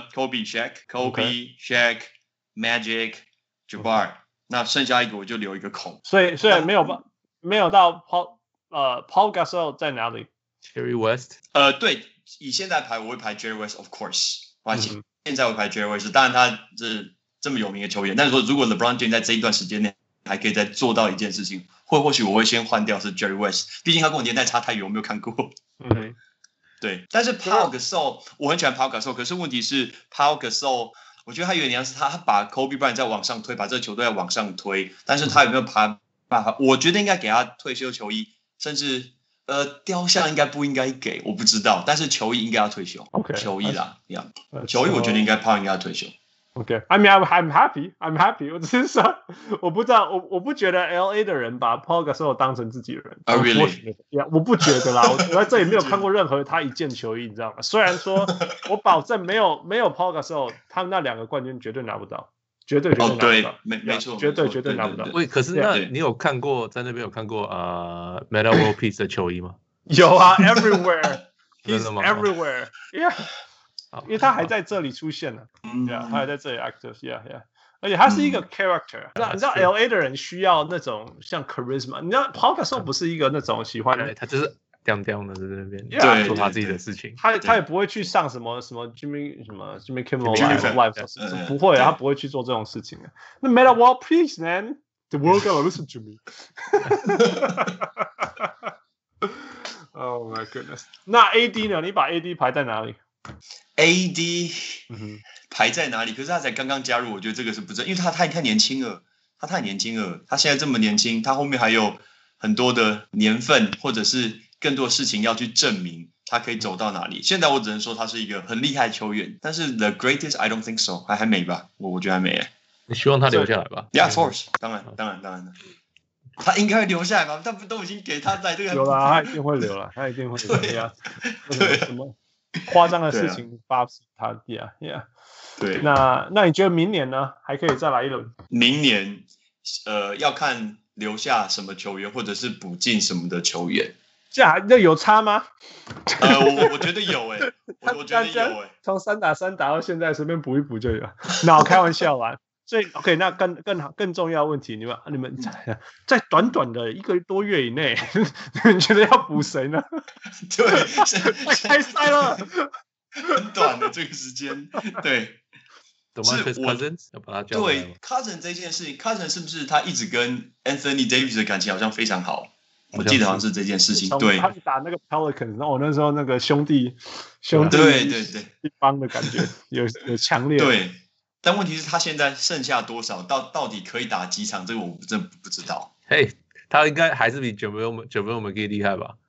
，Kobe、Shaq、Kobe、Shaq、Magic、Jabbar， 那剩下一個我就留一個空。 所以，所以沒有沒有到 Paul 呃 Paul Gasol 在哪裡 ？Jerry West。 呃，對，以現在排我會排 Jerry West，of course， 抱歉，現在我排 Jerry West， 當然他是這麼有名的球員，但是說如果 LeBron James 在這一段時間內還可以再做到一件事情，或或許我會先換掉是 Jerry West， 畢竟他跟我年代差太遠，我沒有看過。嗯，對。但是 Paul Gasol 我很喜歡 Paul Gasol， 可是問題是 Paul Gasol， 我覺得他有點像是他把 Kobe Bryant 再往上推，把這個球隊再往上推，但是他有沒有辦法？我覺得應該給他退休球衣，甚至呃，雕像應該不應該給，我不知道，但是球衣應該要退休。 OK， 球衣啦，一樣。球衣我覺得應該胖應該要退休。 OK，I mean I'm I'm happy, I'm happy。我只是說，我不知道，我我不覺得 L A 的人把 Paul Gasol 當成自己人。 Oh really？ Yeah， 我不覺得啦，我我在這裡沒有看過任何他一件球衣，你知道嗎？雖然說我保證沒有沒有 Paul Gasol，他們那兩個冠軍絕對拿不到，絕對絕對拿不到。哦，對， 沒沒錯， 絕對絕對拿不到。 喂，可是那你有看過在那邊有看過呃 Metta World Peace 的球衣嗎？ 有啊 ，everywhere，he's everywhere，yeah。因為他還在這裡出現呢、啊 yeah, 他還在這裡 active，yeah yeah， 而且他是一個 character，、嗯、你知道 L A 的人需要那種像 charisma， 你知道 Paul Gasol 不是一個那種喜歡的， 他就是吊吊的在那邊 yeah, 做他自己的事情， 他他也不會去上什麼什麼 Jimmy 什麼 Jimmy Kimmel Live， Live 不會，他不會去做這種事情的。那 Metta World Peace man，the world gotta listen to me 。Oh my goodness， 那 A D 呢？你把 A D 排在哪裡？ A D 排在哪裡？可是他才剛剛加入，我覺得這個是不正，因為他太太年輕了，他太年輕了，他現在這麼年輕，他後面還有很多的年份，或者是更多事情要去證明他可以走到哪裡。現在我只能說他是一個很厲害的球員，但是 the greatest I don't think so， 還還沒吧？我我覺得還沒。 你希望他留下來吧 ？Yeah, of course， 當然當然當然的，他應該會留下來吧？他不都已經給他在這個有了，他一定會留了，他一定會留。對呀，對什麼？誇張的事情發生，他 yeah yeah， 對，那那你覺得明年呢？還可以再來一輪？ 明年，呃，要看留下什麼球員，或者是補進什麼的球員。 這樣那有差嗎？ 呃，我我覺得有誒、欸，我我覺得有誒、欸， 從三打三打到現在，隨便補一補就有。那我開玩笑啦。所以 OK， 那更更好更重要的問題，你們你們在在短短的一個多月以內，你們覺得要補誰呢？ 對， 開賽了， 很短的這個時間，對， 是我對 Cousins 這件事情 ，Cousins 是不是他一直跟 Anthony Davis 的感情好像非常好？我記得好像是這件事情，對， 他打那個 Pelicans， 然後我那時候那個兄弟兄弟對对对一幫的感覺有有強烈對。但問題是，他現在剩下多少？到到底可以打幾場？這個我真不知道。 嘿、hey, 他應該還是比 JaVale McGee 厲害吧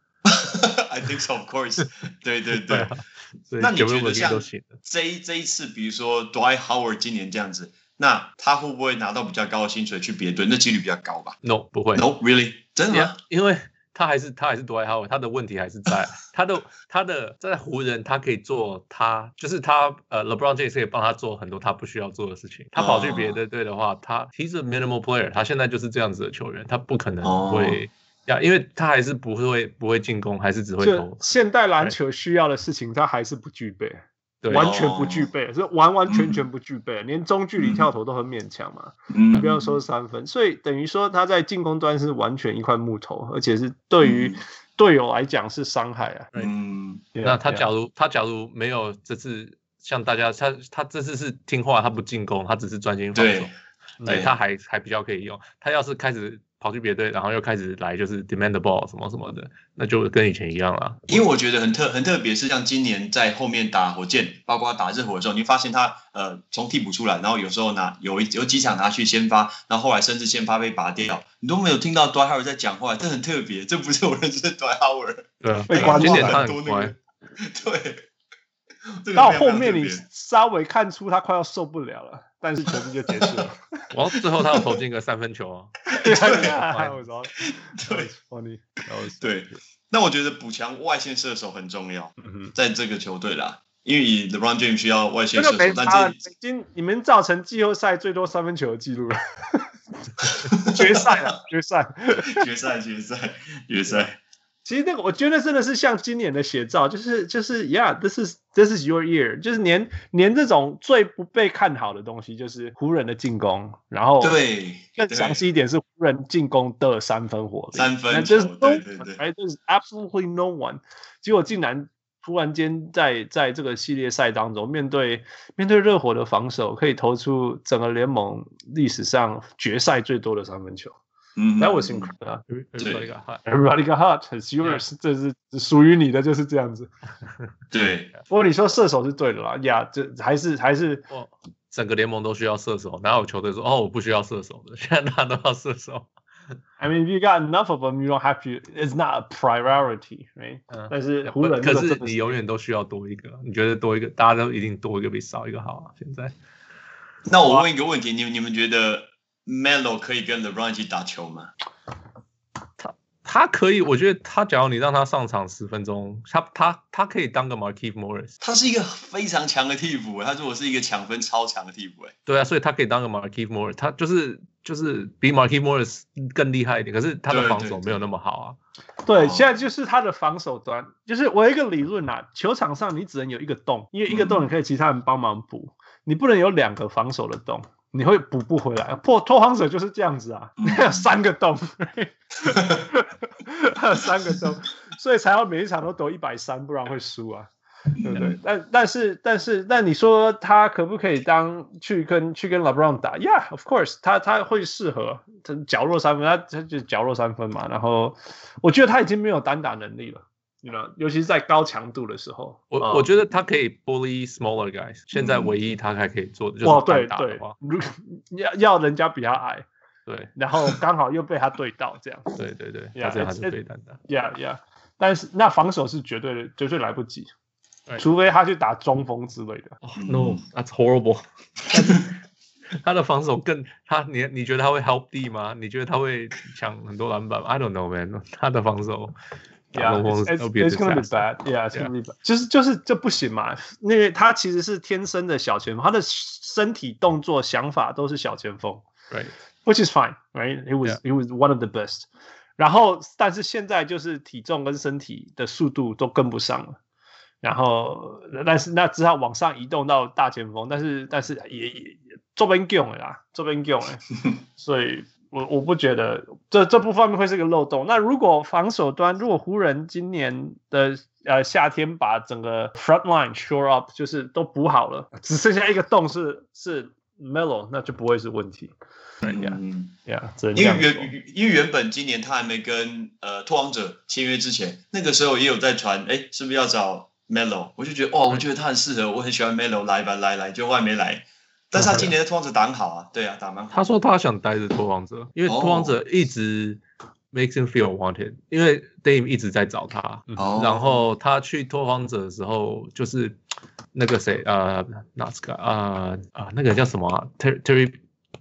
？I think so, of course 對。對對對。那你覺得像這一這一次，比如說 Dwight Howard 今年這樣子，那他會不會拿到比較高的薪水去別隊？那幾率比較高吧 ？No， 不會。 No, really？ 真的嗎？ Yeah, 因為他還是他還是 Dwight Howard，他的問題還是在他的他的在湖人，他可以做他就是他呃 LeBron James 可以幫他做很多他不需要做的事情。他跑去別的隊的話，哦、他 he's a minimal player， 他現在就是這樣子的球員，他不可能會呀、哦，因為他還是不會不會進攻，還是只會投。 現代籃球需要的事情，他還是不具備。 對完全不具備，是、哦、完完全全不具備、嗯，連中距離跳投都很勉強嘛。嗯，不要說三分，所以等於說他在進攻端是完全一塊木頭，而且是對於隊友來講是傷害啊。 嗯，那他假如他假如沒有這次像大家，他他這次是聽話，他不進攻，他只是專心防守，對，他還還比較可以用。他要是開始跑去別隊，然後又開始來就是 demand the ball 什麼什麼的，那就跟以前一樣了。 因為我覺得很特很特別，是像今年在後面打火箭，包括打熱火的時候，你發現他呃從替補出來，然後有時候拿有有幾場拿去先發，然後後來甚至先發被拔掉，你都沒有聽到 Dwight Howard 在講話，這很特別，這不是我認識的 Dwight Howard。 對啊，被關注很多那個。對。這個、 到後面你稍微看出他快要受不了了，但是球季就結束了。 然後最後他有投進個三分球啊。 對， 對，那我覺得補強外線射手很重要，在這個球隊啦，因為以 LeBron James 需要外線射手，這個、但這已經你們造成季後賽最多三分球的記錄了。決賽了，決賽， 決賽，決賽，決賽。 其實那個，我覺得真的是像今年的寫照，就是就是，Yeah，this is this is your year， 就是連連這種最不被看好的東西，就是湖人的進攻，然後對更詳細一點是湖人進攻的三分火力， 三分球，對對對， 哎，就是 absolutely no one， 結果竟然突然間在在這個系列賽當中，面對面對熱火的防守，可以投出整個聯盟歷史上決賽最多的三分球。 嗯 That was incredible. Everybody got hot. Everybody got hot. It's yours. 這是屬於你的，就是這樣子。 對。 不過你說射手是對的啦，呀，這還是還是。 整個聯盟都需要射手，哪有球隊說哦我不需要射手的？現在大家都要射手。 I mean, if you got enough of them, you don't have to. It's not a priority, right？、嗯、但是湖人可是你永遠都需要多一個，你覺得多一個，大家都一定多一個比少一個好啊？現在。 那我問一個問題，你們你們覺得 Melo 可以跟 LeBron 一起打球嗎？ 他他可以，我覺得他假如你讓他上場十分鐘，他他他可以當個 Markieff Morris。 他是一個非常強的替補，他如果是一個搶分超強的替補，哎。 對啊，所以他可以當個 Markieff Morris， 他就是就是比 Markieff Morris 更厲害一點，可是他的防守沒有那麼好啊。 對，對，對，現在就是他的防守端，就是我有一個理論啊，球場上你只能有一個洞，因為一個洞你可以其他人幫忙補。嗯，你不能有兩個防守的洞，你會補不回來。破拓荒者就是這樣子啊，你有三個洞，還有三個洞，所以才要每一場都得一百三，不然會輸啊，對不對？但但是但是，但你說他可不可以當去跟去跟 LeBron 打 ？Yeah, of course， 他他會適合，他角落三分，他他就角落三分嘛。然後我覺得他已經沒有單打能力了。You know, 尤其是在高強度的時候， 我、嗯、我覺得他可以 bully smaller guys。现在唯一他還可以做的就是單打的話， 對對，要要人家比他矮， 對， 然後剛好又被他對到這樣。 對對對， yeah, 他這樣還是對單打。 Yeah yeah， 但是那防守是絕對的，絕對來不及，除非他去打中鋒之類的。 Oh, no, that's horrible 。他的防守更他你你覺得他會 help D 嗎？你覺得他會搶很多籃板 ？I don't know, man。他的防守。 Yeah, it's, it's, it's gonna be bad. Yeah, it's gonna be bad. 就是就是這不行嘛，因為他其實是天生的小前鋒，他的身體動作想法都是小前鋒 ，right? Which is fine, right? He was yeah. he was one of the best. 然後，但是現在就是體重跟身體的速度都跟不上了，然後但是那只好往上移動到大前鋒，但是但是也也這邊強了啦，這邊強了，所以。我我不覺得這這部分面會是個漏洞。那如果防守端，如果湖人今年的呃夏天把整個 front line shore up， 就是都補好了，只剩下一個洞是是 Melo， 那就不會是問題。 嗯 yeah, yeah, 因為原因為原本今年他還沒跟呃拓荒者簽約之前，那個時候也有在傳，哎，是不是要找 Melo？ 我就覺得哦，我覺得他很適合，我很喜歡 Melo， 來吧來來，就後來沒來。但是他今年的拓荒者打很好啊，對啊，打蠻好。 他說他想待着拓荒者，因為拓荒者一直 makes him feel wanted， 因為 Dame 一直在找他，哦、然後他去拓荒者的時候，就是那個誰，呃，那個啊啊，那個叫什麼、啊、Terry Terry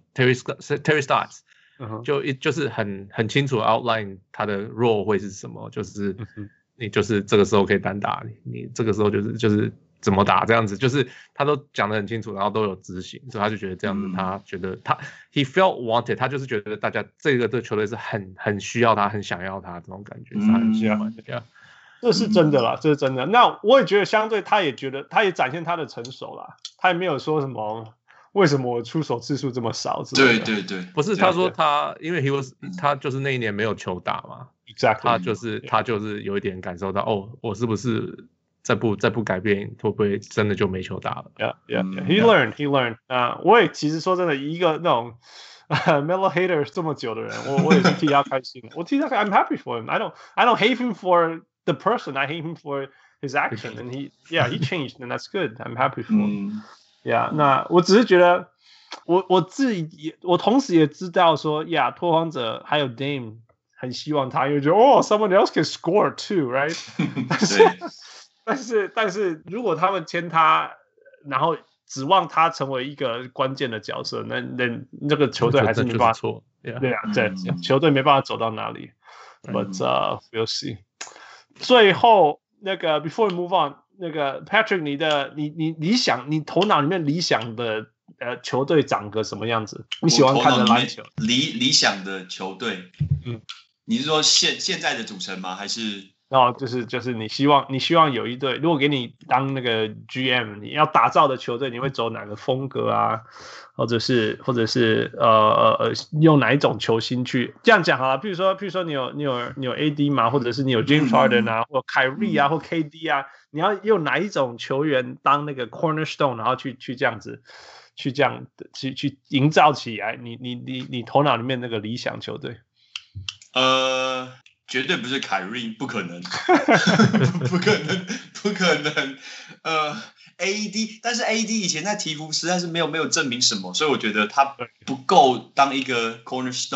Terry Stotts， 就一就是很很清楚 outline 他的 role 會是什麼，就是你就是這個時候可以單打，你你這個時候就是就是。怎麼打這樣子，就是他都講得很清楚，然後都有執行，所以他就覺得這樣子，嗯、他覺得他 he felt wanted， 他就是覺得大家這個對球隊是很很需要他，很想要他這種感覺，嗯、是他很需要的，這樣， 這是真的啦，這是真的。那我也覺得，相對他也覺得，他也展現他的成熟啦，他也沒有說什麼為什麼我出手次數這麼少之類的。 對對對， 不是他說他，因為 he was 他就是那一年沒有球打嘛， exactly， 他就是他就是有一點感受到，哦，我是不是？再不再不改變，會不會真的就沒球打了 ？Yeah, yeah, yeah. He learned, he learned. 啊、uh, ，我也其實說真的，一個那種、uh, Melo hater 這麼久的人，我我也是替他開心。我替他開 ，I'm happy for him. I don't, I don't hate him for the person. I hate him for his action. And he, yeah, he changed, and that's good. I'm happy for him. Yeah. 那我只是覺得，我我自己也，我同時也知道說，呀、yeah, 拓荒者還有 Dame 很希望他，因為覺得哦 ，someone else can score too, right? 但是。但是，但是如果他們簽他，然後指望他成為一個關鍵的角色，那那那個球隊還是沒辦法錯。 對啊，對，嗯、球隊沒辦法走到哪裡。嗯、But uh, we'll see。最後那個 before we move on， 那個 Patrick， 你的你你理想，你頭腦裡面理想的呃球隊長個什麼樣子？你喜歡看的籃球？ 理理想的球隊，嗯，你是說現現在的組成嗎？還是？ 然後就是就是你希望你希望有一隊，如果給你當那個 G M， 你要打造的球隊，你會走哪個風格啊？或者是或者是呃呃用哪一種球星去這樣講好了？譬如說譬如說你有你有你有 A D 嘛，或者是你有 James Harden 啊，嗯、或 Kyrie 啊，或 K D 啊，你要用哪一種球員當那個 cornerstone， 然後去去這樣子去這樣去去營造起來你你你你頭腦裡面那個理想球隊？ 呃。絕對不是凱瑞，不可能，不可能，不可能。呃 ，A D， 但是 A D 以前在鹈鶘實在是沒有沒有證明什麼，所以我覺得他不夠當一個 cornerstone。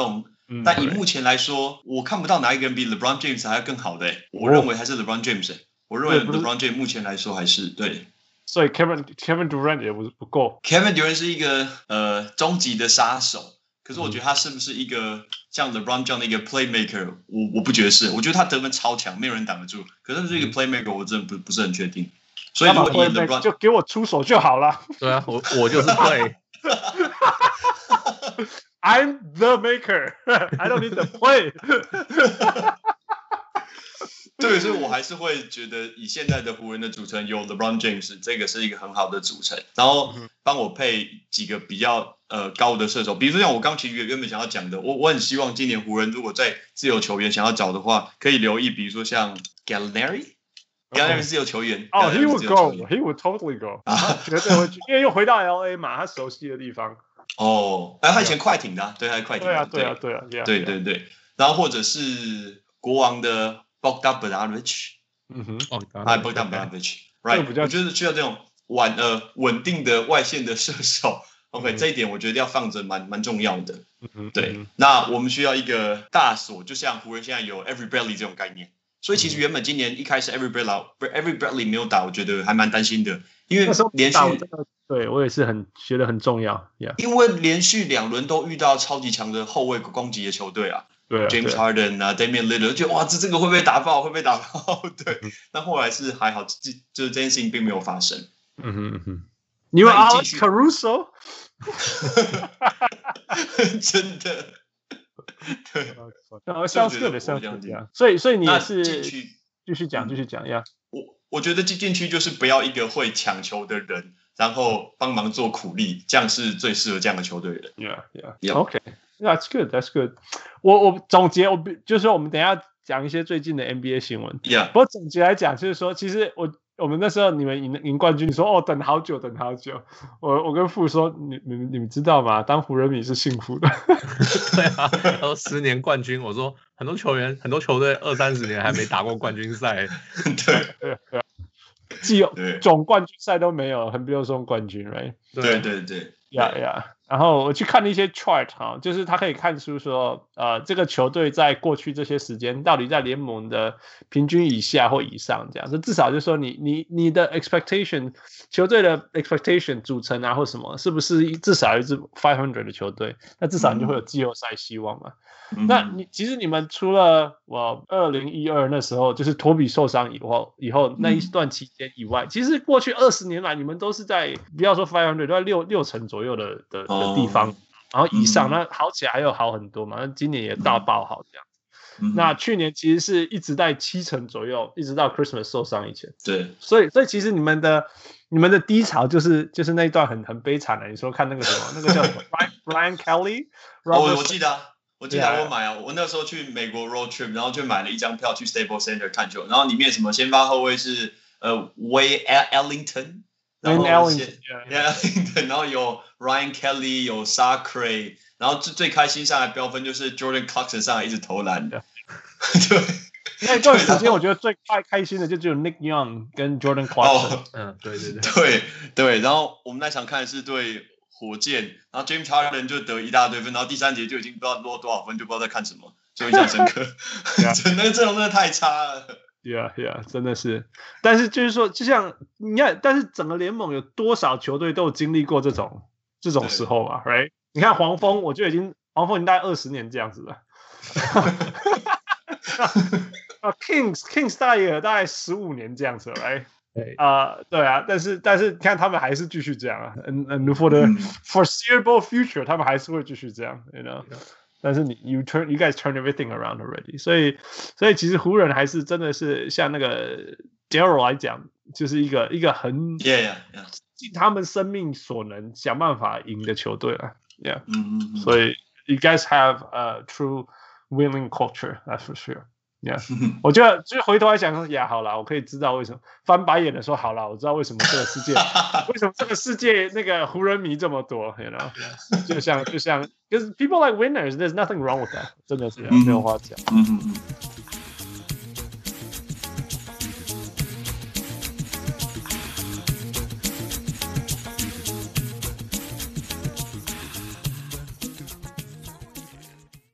嗯、但以目前來說，我看不到哪一個人比 LeBron James 還要更好的、欸。我認為還是 LeBron James、欸。我認為 LeBron James 目前來說還是對。 所以 Kevin Kevin Durant 也不不夠。 Kevin Durant 是一個呃終極的殺手，可是我覺得他是不是一個像 LeBron 這樣的一個 playmaker， 我我不覺得是。我覺得他得分超強，沒有人擋得住。可是是一個 playmaker， 我真的不不是很確定。所以如果以 LeBron 就給我出手就好了。 對啊，我我就是 play。 I'm the maker. I don't need the play. 对，所以我還是會覺得以現在的湖人的組成有 LeBron James， 這個是一個很好的組成。然後幫我配幾個比較呃高的射手，比如說像我剛其實原本想要講的，我我很希望今年湖人如果在自由球員想要找的話，可以留意，比如說像 Gallinari。Gallinari 是自由球員。 哦、oh, ，He would go. He would totally go. 絕對會去，因為又回到 L A 嘛，他熟悉的地方。 哦，哎，他以前快艇的、啊，對，他是快艇的。 對啊，對啊，對啊，對啊， 對對對。然後或者是國王的 Bogdan Bogdanovic， 嗯哼， 哦， 哎 Bogdan Bogdanovic，right， 我覺得需要這種穩呃穩定的外線的射手。OK，、嗯、這一點我覺得要放着蠻蠻重要的。嗯哼，對。嗯、那我們需要一個大鎖，就像湖人現在有 Avery Bradley 這種概念。所以其實原本今年一開始 Avery Bradley，Avery Bradley 沒有打，我覺得還蠻擔心的，因為連續對我也是很覺得很重要， yeah. 因為連續兩輪都遇到超級強的後衛攻擊的球隊啊， 對啊 ，James Harden 啊 ，Damian Lillard， 就哇，這這個會不會打爆？會不會打爆？對，但、嗯、後來是還好，就是這件事情並沒有發生。 嗯哼嗯哼，你有 Alex Caruso， 真的。對， sounds good, sounds good, yeah. 所以，所以你也是繼續講，繼續講呀。 我我覺得進禁區就是不要一個會搶球的人，然後幫忙做苦力，這樣是最適合這樣的球隊的。 Yeah, yeah, yeah. OK, that's good, that's good. 我我總結，我就是說，我們等一下講一些最近的 N B A 新聞。 Yeah. 不過總結來講，就是說，其實我。我們那時候你們贏贏冠軍，你說哦等好久等好久，我我跟傅說你你你們知道嗎？當湖人迷是幸福的。 對啊，然後十年冠軍，我說很多球員很多球隊二三十年還沒打過冠軍賽。 對對對，既有總冠軍賽都沒有，很不用說冠軍 ，right？ 對對對， 呀呀。然後我去看了一些 chart 哈，就是他可以看出說，呃，這個球隊在過去這些時間到底在聯盟的平均以下或以上這樣，就至少就是說你你你的 expectation 球隊的 expectation 組成啊或什麼，是不是至少一支五百的球隊？那至少你就會有季後賽希望嘛。嗯、那你其實你們除了我二零一二那時候就是托比受傷以後以後那一段期間以外，嗯、其實過去二十年來你們都是在不要說五百，都在六六成左右的的。的地方，然後以上，那、嗯、好起來還有好很多嘛。那今年也大爆好這樣、嗯、那去年其實是一直在七成左右，一直到 Christmas 受傷以前。 對， 所以所以其實你們的你們的低潮就是就是那一段很很悲慘的。你說看那個什麼，那個叫什麼 Brian Kelly？ 哦，我記得、啊，我記得我買啊，我那時候去美國 road trip， 然後就買了一張票去 Staples Center 看球，然後裡面什麼先發後衛是呃 Wayne Ellington。然後 Ellington, yeah, yeah. 然後有 Ryan Kelly， 有 Sacre， 然後最最開心上來飆分就是 Jordan Clarkson 上來一直投籃的。對， 那段時間我覺得最開開心的就只有 Nick Young 跟 Jordan Clarkson。嗯、 哦，對對對， 對對。然後我們那場看的是對火箭，然後 James Harden 就得一大堆分，然後第三節就已經不知道落多少分，就不知道在看什麼，就印象深刻。那個陣容真的太差了。 Yeah, yeah, 真的是，但是就是說，就像你看，但是整個聯盟有多少球隊都有經歷過這種這種時候嘛 ，right？ 你看黃蜂，我就已經黃蜂已經大概二十年這樣子了。Kings Kings 大約大概十五年這樣子了 ，right？ 對啊、uh, 對啊，但是但是你看他們還是繼續這樣啊 ，and and for the foreseeable future， 他們還是會繼續這樣 ，you know。但是你 you turn you guys turn everything around already， 所以所以其實湖人還是真的是像那個 Daryl 來講，就是一個一個很 yeah, yeah, yeah. 盡他們生命所能想辦法贏的球隊了 ，yeah， 嗯嗯， 所以 you guys have a true winning culture, that's for sure。Yeah， 我覺得就是回頭來想說，呀，好啦，我可以知道為什麼翻白眼的說，好啦，我知道為什麼這個世界，為什麼這個世界那個湖人迷這麼多 ，you know， 就像就像，because people like winners, there's nothing wrong with that， 真的是沒有話講。 嗯嗯嗯。